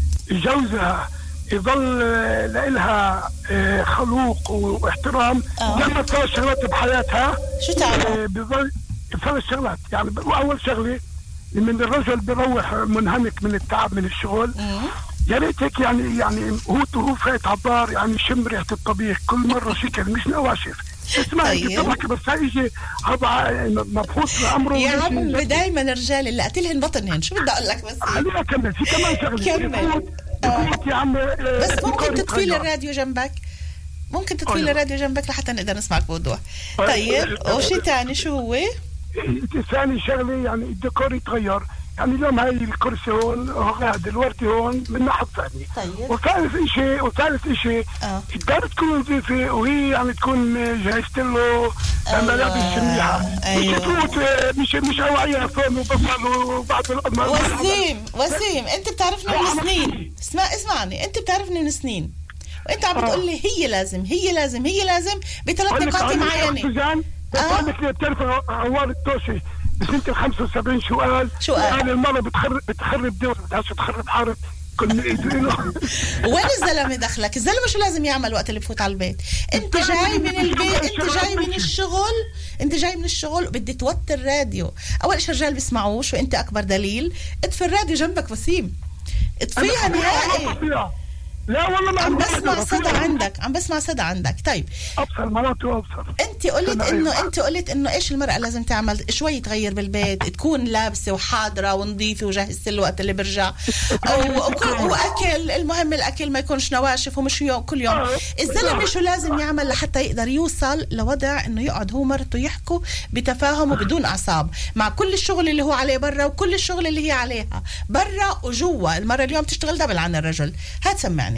جوزها يظل لها خلوق واحترام لما تصير شغلات بحياتها. شو تعمل؟ بظل ثلاث شغلات يعني. اول شغله من الرجل بيروح منهمك من التعب من الشغل، يا ريت هيك يعني يعني هو هو فايت على الدار يعني شم ريحه الطبيخ كل مره شكل مش نواشف. اسمعي طبعا بس هيجي هذا مبحوث لامره. يا عم دائما الرجال اللي قتلهن بطنهن. شو بدي اقول لك بس خليني اكمل. في كمان شغله كمل يا عم. بس ممكن تطفي لي الراديو جنبك، ممكن تطفي لي الراديو جنبك لحتى نقدر نسمعك بوضوح. طيب وشي ثاني شو هو؟ ثاني شغله يعني الديكور يتغير. يعني اليوم هاي الكرسي هون هذا الوردي هون من ناحية ثانية. طيب. وثالث شيء وثالث شيء اه الدار تكون نظيفة وهي يعني تكون جهزت له ملابس منيحة. أيوة. مش تفوت مش مش هواية فم وبصل وبعد الأمر. وسيم وسيم أنت بتعرفني من سنين. اسمع اسمعني أنت بتعرفني من سنين وأنت عم بتقول لي هي لازم هي لازم هي لازم بثلاث نقاط معينة. بقول لك بتعرف عوار التوشي بسنة خمسة وسبعين شو قال؟ شو قال؟ يعني المرة بتخرب بتخرب دور بدهاش تخرب حارة كل وين الزلمة دخلك؟ الزلمة شو لازم يعمل وقت اللي بفوت على البيت؟ انت جاي من البيت، انت جاي من الشغل، انت جاي من الشغل وبدي توطي الراديو. اول شيء الرجال بيسمعوش وانت اكبر دليل. اطفي الراديو جنبك وسيم، اطفيها نهائي. لا والله ما عم بسمع صدى عندك، عم بسمع صدى عندك. طيب ابصر مرات وابصر. انت قلت انه انت قلت انه ايش المرأة لازم تعمل شوي تغير بالبيت، تكون لابسه وحاضره ونظيفه وجاهزه الوقت اللي برجع واكل. المهم الاكل ما يكونش نواشف ومش يوم كل يوم. الزلمه شو لازم يعمل لحتى يقدر يوصل لوضع انه يقعد هو مرته يحكوا بتفاهم وبدون اعصاب مع كل الشغل اللي هو عليه برا وكل الشغل اللي هي عليها برا وجوا. المرة اليوم تشتغل دبل عن الرجل. هات سمعني.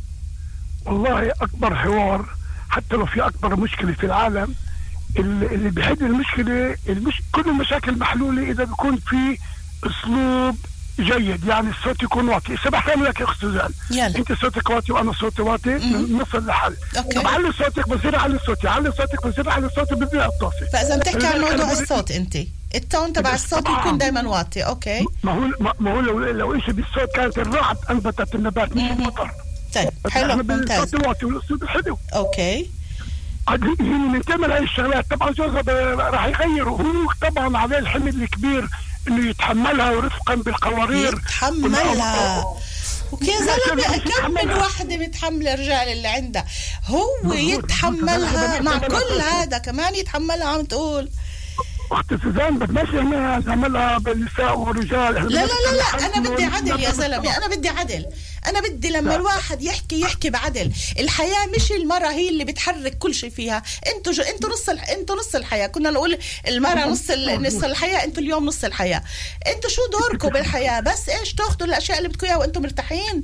والله أكبر حوار حتى لو في أكبر مشكلة في العالم اللي بيحل المشكلة المش... كل المشاكل محلولة إذا بيكون في أسلوب جيد. يعني الصوت يكون واطي. سبح تعمل لك يا أخت سوزان، أنت صوتك واطي وأنا صوتي واطي نصل لحل. طب علي صوتك بصير علي صوتي، علي صوتك بصير علي صوتي بدي الطافي. فإذا بتحكي عن موضوع الصوت أنت التون تبع الصوت يكون دائما واطي. أوكي ما هو ما هو لو لو إيش بالصوت كانت الرعد أنبتت النبات مش المطر. طيب حلو ممتاز. حلو. اوكي هي من تعمل هاي الشغلات. طبعا جوزها راح يغير وهو طبعا عليه الحمل الكبير انه يتحملها ورفقا بالقوارير يتحملها. وكي زلمه كم من وحده متحمله الرجال اللي عندها هو يتحملها مع كل هذا كمان يتحملها. عم تقول اخت سوزان بدناش احنا نعملها بالنساء والرجال. لا لا لا لا انا بدي عدل يا زلمه. انا بدي عدل. انا بدي لما لا. الواحد يحكي يحكي بعدل. الحياه مش المراه هي اللي بتحرك كل شيء فيها. انتوا جو... انتوا نص الح... انتوا نص الحياه. كنا نقول المراه نص ال... نص الحياه، انتوا اليوم نص الحياه. انتوا شو دوركم بالحياه؟ بس ايش تاخذوا الاشياء اللي بدكم اياها وانتم مرتاحين.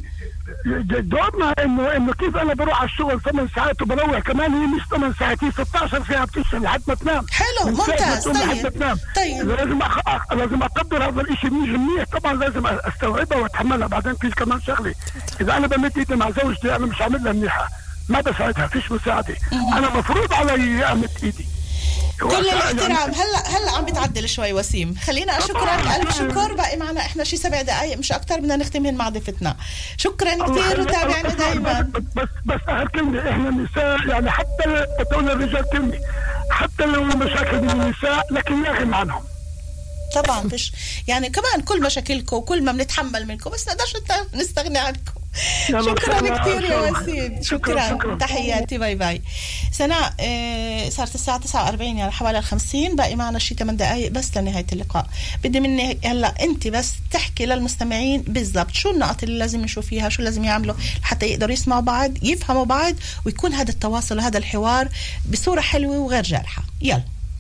دورنا انه انه كيف انا بروح على الشغل ثمان ساعات وبروح كمان هي مش ثمان ساعات هي ستة عشر ساعه بتشتغل لحد ما تنام. حلو ممتاز. طيب طيب لازم أخ... لازم اقدر هذا الشيء منيح. طبعا لازم استوعبها واتحملها. بعدين في كمان شغله، اذا انا بمد ايدي مع زوجتي انا مش عاملها منيحه ما بساعدها فيش مساعده. انا مفروض علي امد ايدي. كل الاحترام. هلا هلا عم بتعدل شوي وسيم. خلينا اشكرك الف شكر. باقي معنا احنا شي سبع دقائق مش اكثر بدنا نختمهن مع ضيفتنا. شكرا كثير وتابعنا دائما. بس بس اخر كلمه احنا النساء يعني حتى بتقول الرجال كلمه حتى لو مشاكل من النساء لكن لا غنى عنهم. طبعا فيش يعني كمان كل مشاكلكم وكل ما بنتحمل منكم بس نقدرش نستغني عنكم. شكرا كثير يا وسيم. شكرا, شكرا. تحياتي. باي باي. سناء إيه صارت الساعة تسعة وأربعين يعني حوالي الخمسين. باقي معنا شي ثمان دقائق بس لنهاية اللقاء. بدي مني هلا انت بس تحكي للمستمعين بالضبط شو النقط اللي لازم نشوف فيها، شو لازم يعملوا حتى يقدروا يسمعوا بعض يفهموا بعض ويكون هذا التواصل وهذا الحوار بصورة حلوة وغير جارحة. يلا.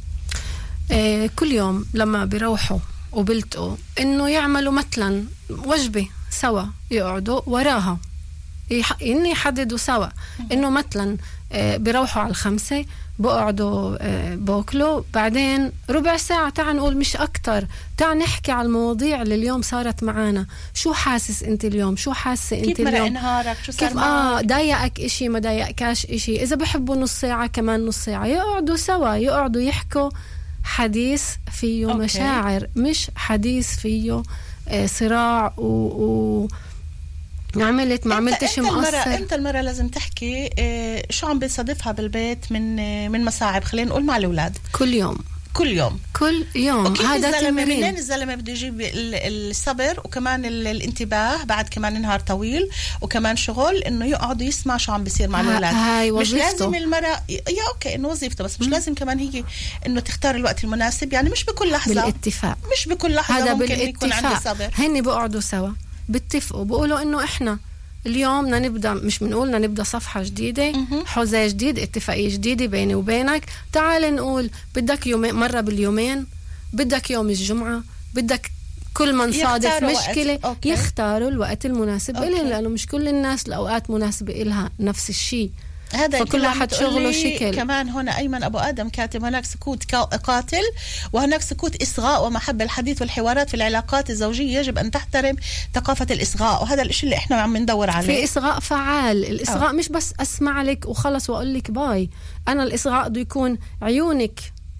إيه كل يوم لما بيروحوا وبلتقوا انه يعملوا مثلا وجبة سوا يقعدوا وراها يح... إني يحددوا سوا إنه مثلا بيروحوا على الخمسة بقعدوا بوكلوا بعدين ربع ساعة تعال نقول مش أكتر تعال نحكي على المواضيع اللي اليوم صارت معانا. شو حاسس أنت اليوم؟ شو حاسة أنت اليوم؟ كيف مرق نهارك؟ شو صار كيف آه ضايقك إشي ما ضايقكاش إشي؟ إذا بحبوا نص ساعة كمان نص ساعة يقعدوا سوا يقعدوا يحكوا حديث فيه أوكي. مشاعر مش حديث فيه صراع و, و... عملت ما عملتش مقصر. امتى المرة لازم تحكي إيه شو عم بيصادفها بالبيت من من مصاعب خلينا نقول مع الأولاد؟ كل يوم كل يوم كل يوم. هذا تمرين. منين الزلمة بده يجيب الصبر وكمان الانتباه بعد كمان نهار طويل وكمان شغل انه يقعد يسمع شو عم بيصير مع الأولاد؟ هاي مش لازم المرة يا اوكي انه وظيفته بس مش م. لازم كمان هي انه تختار الوقت المناسب. يعني مش بكل لحظة بالاتفاق مش بكل لحظة هذا ممكن بالاتفاق. يكون عندي صبر. هني بقعدوا سوا بتفقوا بقولوا انه احنا اليوم بدنا نبدا مش بنقولنا نبدا صفحه جديده حوزه جديد اتفاقيه جديده بيني وبينك. تعال نقول بدك يوم مره باليومين بدك يوم الجمعه بدك كل من صادف مشكله يختاروا الوقت المناسب إليه لانه مش كل الناس الاوقات مناسبه إلها نفس الشيء. هذا فكل واحد شغله شكل. كمان هنا أيمن أبو آدم كاتب هناك سكوت قاتل وهناك سكوت إصغاء ومحبة. الحديث والحوارات في العلاقات الزوجية يجب أن تحترم ثقافة الإصغاء وهذا الشيء اللي إحنا عم ندور عليه. في إصغاء فعال. الإصغاء أوه. مش بس أسمع لك وخلص وأقول لك باي. أنا الإصغاء بده يكون عيونك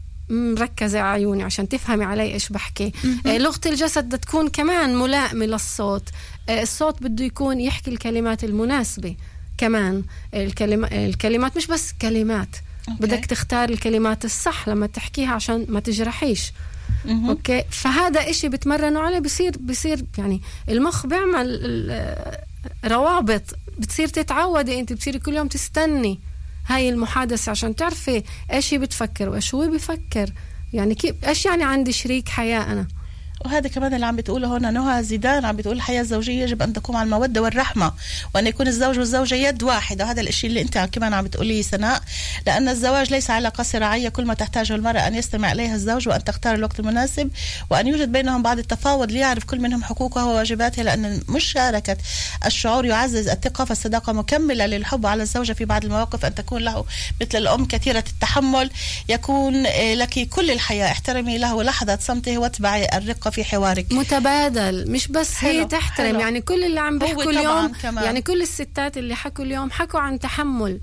مركزة على عيوني عشان تفهمي علي إيش بحكي. آه لغة الجسد بدها تكون كمان ملائمة للصوت. آه الصوت بده يكون يحكي الكلمات المناسبة كمان. الكلمة الكلمات مش بس كلمات أوكي. بدك تختار الكلمات الصح لما تحكيها عشان ما تجرحيش. مه. اوكي فهذا اشي بتمرنوا عليه بصير بصير يعني المخ بيعمل روابط بتصير تتعودي انت بتصيري كل يوم تستني هاي المحادثة عشان تعرفي ايش هي بتفكر وايش هو بيفكر. يعني كيف ايش يعني عندي شريك حياة انا. وهذا كمان اللي عم بتقوله هنا نهى زيدان عم بتقول الحياة الزوجية يجب أن تقوم على المودة والرحمة وأن يكون الزوج والزوجة يد واحدة. وهذا الشيء اللي أنت كمان عم بتقوليه سناء لأن الزواج ليس علاقة صراعية كل ما تحتاجه المرأة أن يستمع إليها الزوج وأن تختار الوقت المناسب وأن يوجد بينهم بعض التفاوض ليعرف كل منهم حقوقه وواجباته لأن مشاركة الشعور يعزز الثقة فالصداقة مكملة للحب على الزوجة في بعض المواقف أن تكون له مثل الأم كثيرة التحمل يكون لك كل الحياة. احترمي له لحظة صمته واتبعي الرقة في حوارك متبادل مش بس هي تحترم. حلو. يعني كل اللي عم بيحكوا اليوم كمان. يعني كل الستات اللي حكوا اليوم حكوا عن تحمل.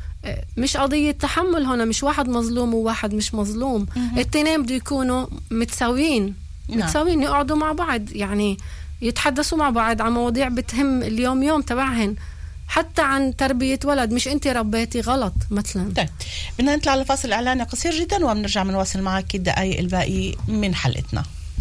مش قضية تحمل هنا مش واحد مظلوم وواحد مش مظلوم. التنين بده يكونوا متساويين نعم. متساويين يقعدوا مع بعض يعني يتحدثوا مع بعض عن مواضيع بتهم اليوم يوم تبعهن حتى عن تربية ولد مش انت ربيتي غلط مثلا. طيب بدنا نطلع لفاصل إعلاني قصير جدا وبنرجع بنواصل معك الدقائق الباقي من حلقتنا.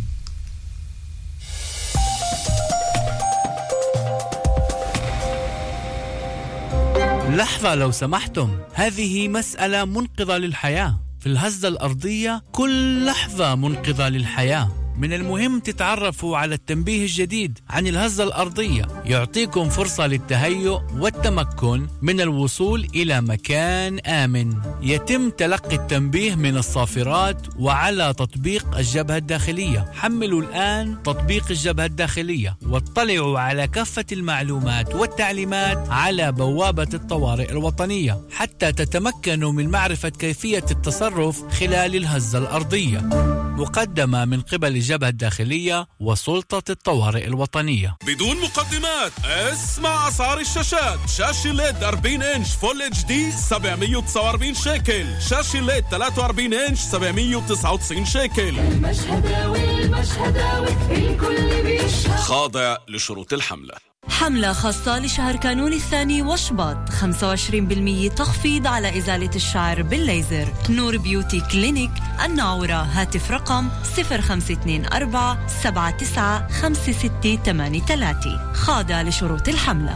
لحظة لو سمحتم، هذه مسألة منقذة للحياة. في الهزة الأرضية كل لحظة منقذة للحياة. من المهم تتعرفوا على التنبيه الجديد عن الهزة الأرضية، يعطيكم فرصة للتهيؤ والتمكن من الوصول إلى مكان آمن. يتم تلقي التنبيه من الصافرات وعلى تطبيق الجبهة الداخلية. حملوا الآن تطبيق الجبهة الداخلية واطلعوا على كافة المعلومات والتعليمات على بوابة الطوارئ الوطنية حتى تتمكنوا من معرفة كيفية التصرف خلال الهزة الأرضية. مقدمة من قبل الجبهة الداخلية وسلطة الطوارئ الوطنية. بدون مقدمات اسمع أسعار الشاشات. شاشة ليد أربعين إنش فول اتش دي سبعمية وتسعة وأربعين شيكل. شاشة ليد ثلاثة وأربعين إنش سبعمية وتسعة وتسعين شيكل. المشهداوي المشهداوي الكل بيشهد. خاضع لشروط الحملة. حملة خاصة لشهر كانون الثاني وشباط، خمسة وعشرين بالمئة تخفيض على إزالة الشعر بالليزر. نور بيوتي كلينيك الناورة. هاتف رقم صفر خمسة اثنين أربعة سبعة تسعة خمسة ستة ثمانية ثلاثة. خاضع لشروط الحملة.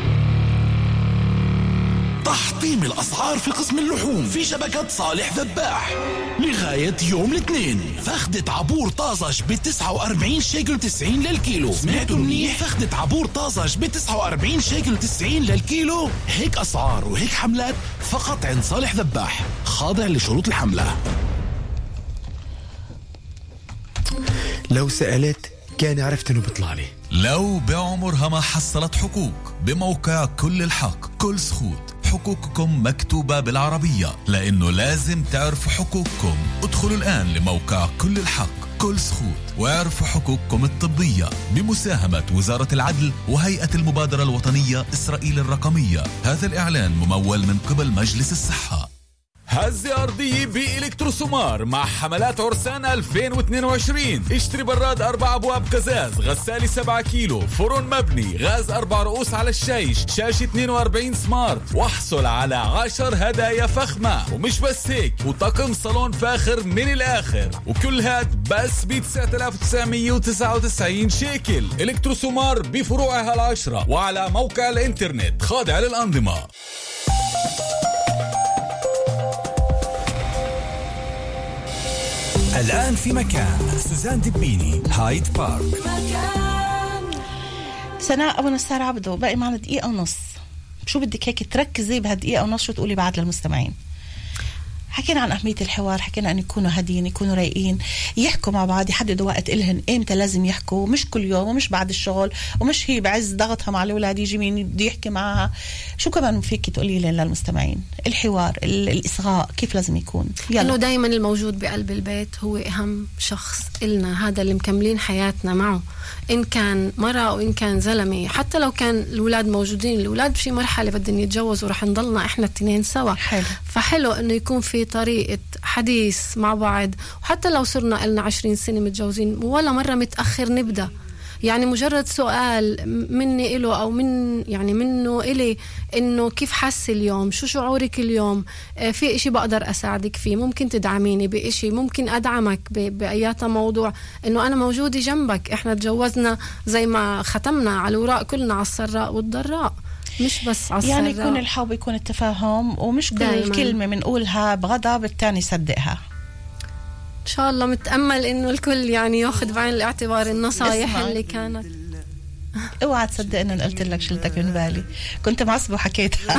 تحطيم الأسعار في قسم اللحوم في شبكة صالح ذباح لغاية يوم الاثنين. فخدة عبور طازج بتسعة وأربعين شيكل تسعين للكيلو. سمعتوا منيح؟ فخدة عبور طازج بتسعة وأربعين شيكل تسعين للكيلو. هيك أسعار وهيك حملات فقط عند صالح ذباح. خاضع لشروط الحملة. لو سألت كان عرفت انه بيطلع لي. لو بعمرها ما حصلت حقوق بموقع كل الحق كل سخوت حقوقكم مكتوبة بالعربية لأنه لازم تعرفوا حقوقكم. ادخلوا الآن لموقع كل الحق كل سخوت واعرفوا حقوقكم الطبية بمساهمة وزارة العدل وهيئة المبادرة الوطنية إسرائيل الرقمية. هذا الإعلان ممول من قبل مجلس الصحة. هزة أرضية بإلكتروسومار مع حملات عرسان ألفين واثنين وعشرين. اشتري براد أربع أبواب قزاز، غسالة سبعة كيلو، فرن مبني، غاز أربع رؤوس على الشيش، شاشة اثنين وأربعين سمارت، واحصل على عشر هدايا فخمة. ومش بس هيك، وطقم صالون فاخر من الآخر، وكل هاد بس ب تسعة آلاف وتسعمية وتسعة وتسعين شيكل. إلكتروسومار بفروعها العشرة وعلى موقع الإنترنت خاضع للأنظمة. الآن في مكان سوزان دبيني هايد بارك. سناء أبو نصار عبدو، باقي معنا دقيقة ونص. شو بدك هيك تركزي بهالدقيقة ونص، شو تقولي بعد للمستمعين؟ حكينا عن أهمية الحوار، حكينا أن يكونوا هادين، يكونوا رايقين، يحكوا مع بعض، يحددوا وقت إلهن إمتى لازم يحكوا، مش كل يوم ومش بعد الشغل ومش هي بعز ضغطها مع الأولاد يجي مين بده يحكي معها. شو كمان فيك تقولي لي للمستمعين؟ الحوار، الإصغاء كيف لازم يكون؟ يلا. إنه دايما الموجود بقلب البيت هو أهم شخص إلنا، هذا اللي مكملين حياتنا معه، إن كان مرة أو إن كان زلمة. حتى لو كان الأولاد موجودين، الأولاد بشي مرحلة بدهم يتجوزوا ورح نضلنا إحنا التنين سوا. حلو. فحلو إنه يكون في طريقة حديث مع بعض، وحتى لو صرنا لنا عشرين سنة متجوزين ولا مرة متأخر نبدأ. يعني مجرد سؤال مني إله أو من يعني منه إلي، إنه كيف حاسة اليوم، شو شعورك اليوم، في إشي بقدر أساعدك فيه، ممكن تدعميني بإشي، ممكن أدعمك بأيات موضوع، إنه أنا موجودة جنبك. إحنا تجوزنا زي ما ختمنا على الوراق كلنا على السراء والضراء، مش بس على السراء. يعني يكون الحب، يكون التفاهم، ومش كل دايماً كلمة منقولها بغضب التاني صدقها. إن شاء الله متأمل إنه الكل يعني يأخذ بعين الاعتبار النصايح اللي كانت. اوعى تصدق ان قلت لك شلتك من بالي، كنت معصبه وحكيتها.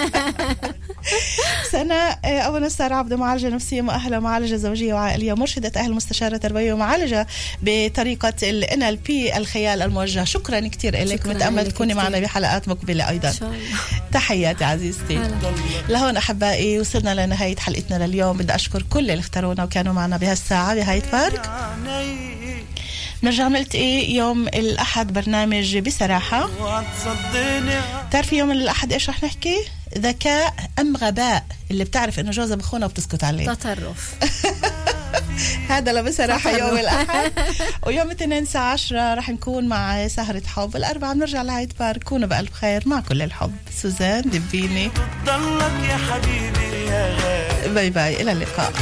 سناء أبو نصار عبدو، معالجة نفسية مؤهلة، معالجة زوجية وعائلية، مرشدة أهل، مستشارة تربوية ومعالجة بطريقة ال إن إل بي الخيال الموجه. شكرا كتير لك، متأمل تكوني معنا بحلقات مقبلة أيضا. إن شاء الله. تحياتي عزيزتي. لهون أحبائي وصلنا لنهاية حلقتنا لليوم. بدي أشكر كل اللي اختارونا وكانوا معنا بهالساعة بهايد بارك. نرجع نلتقي يوم الأحد برنامج بصراحة. تعرفي يوم الأحد إيش رح نحكي؟ ذكاء أم غباء؟ اللي بتعرف إنه جوزها بخونه وبتسكت عليه. تطرف. هذا لا بصراحة يوم الأحد. ويوم الاثنين الساعة عشرة رح نكون مع سهرة حب. الأربعاء بنرجع لهايد بارك. كونوا بألف خير مع كل الحب. سوزان دبيني. ضلك يا حبيبي يا غالي. باي باي، إلى اللقاء.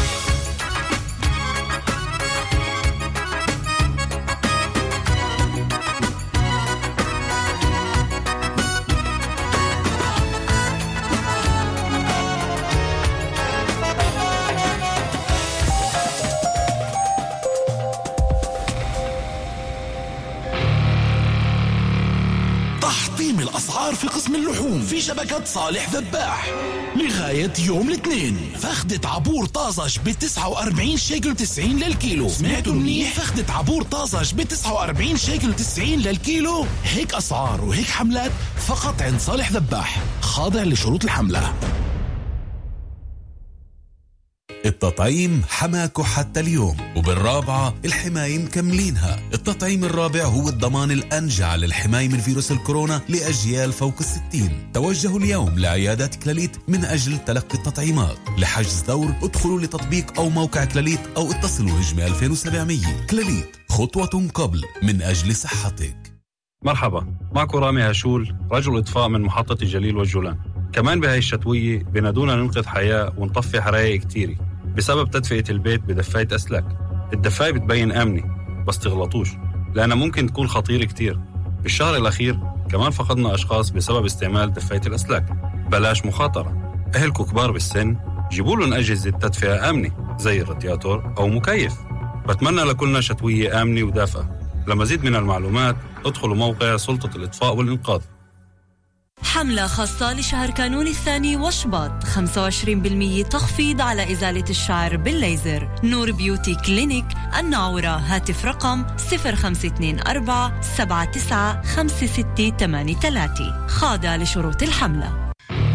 الأسعار في قسم اللحوم في شبكة صالح ذباح لغاية يوم الاثنين. فخدة عبور طازج بتسعة وأربعين شيكل تسعين للكيلو. سمعتوا منيح؟ فخدة عبور طازج بتسعة وأربعين شيكل تسعين للكيلو. هيك أسعار وهيك حملات فقط عند صالح ذباح، خاضع لشروط الحملة. التطعيم حماكو حتى اليوم، وبالرابعة الحماية مكملينها. التطعيم الرابع هو الضمان الأنجع للحماية من فيروس الكورونا لأجيال فوق الستين. توجهوا اليوم لعيادات كلاليت من أجل تلقي التطعيمات. لحجز دور ادخلوا لتطبيق أو موقع كلاليت أو اتصلوا نجمة ألفين وسبعمية. كلاليت، خطوة قبل من أجل صحتك. مرحبا، معكم رامي هاشول، رجل إطفاء من محطة الجليل والجولان. كمان بهاي الشتوية بنادونا ننقذ حياة ونطفي حرايق كتيري بسبب تدفئة البيت بدفاية أسلاك. الدفاية بتبين آمنة بس تغلطوش، لأنها ممكن تكون خطيرة كتير. بالشهر الأخير كمان فقدنا أشخاص بسبب استعمال دفاية الأسلاك. بلاش مخاطرة. أهلكم كبار بالسن، جيبوا لهم أجهزة تدفئة آمنة زي الرادياتور أو مكيف. بتمنى لكلنا شتوية آمنة ودافئة. لمزيد من المعلومات ادخلوا موقع سلطة الإطفاء والإنقاذ. حملة خاصة لشهر كانون الثاني وشباط، خمسة وعشرين بالمية تخفيض على إزالة الشعر بالليزر. نور بيوتي كلينيك الناعورة، هاتف رقم صفر خمسة اثنين أربعة سبعة تسعة خمسة ستة ثمانية ثلاثة، خاضع لشروط الحملة.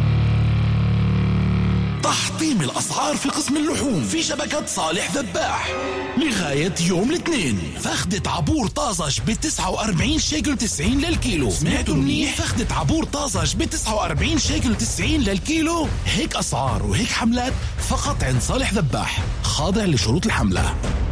تحطيم الأسعار في قسم اللحوم في شبكة صالح ذباح لغاية يوم الاثنين. فخدة عبور طازج ب تسعة وأربعين شيكل تسعين للكيلو. سمعتوا منيح؟ فخدة عبور طازج ب تسعة وأربعين شيكل تسعين للكيلو. هيك أسعار وهيك حملات فقط عند صالح ذباح، خاضع لشروط الحملة.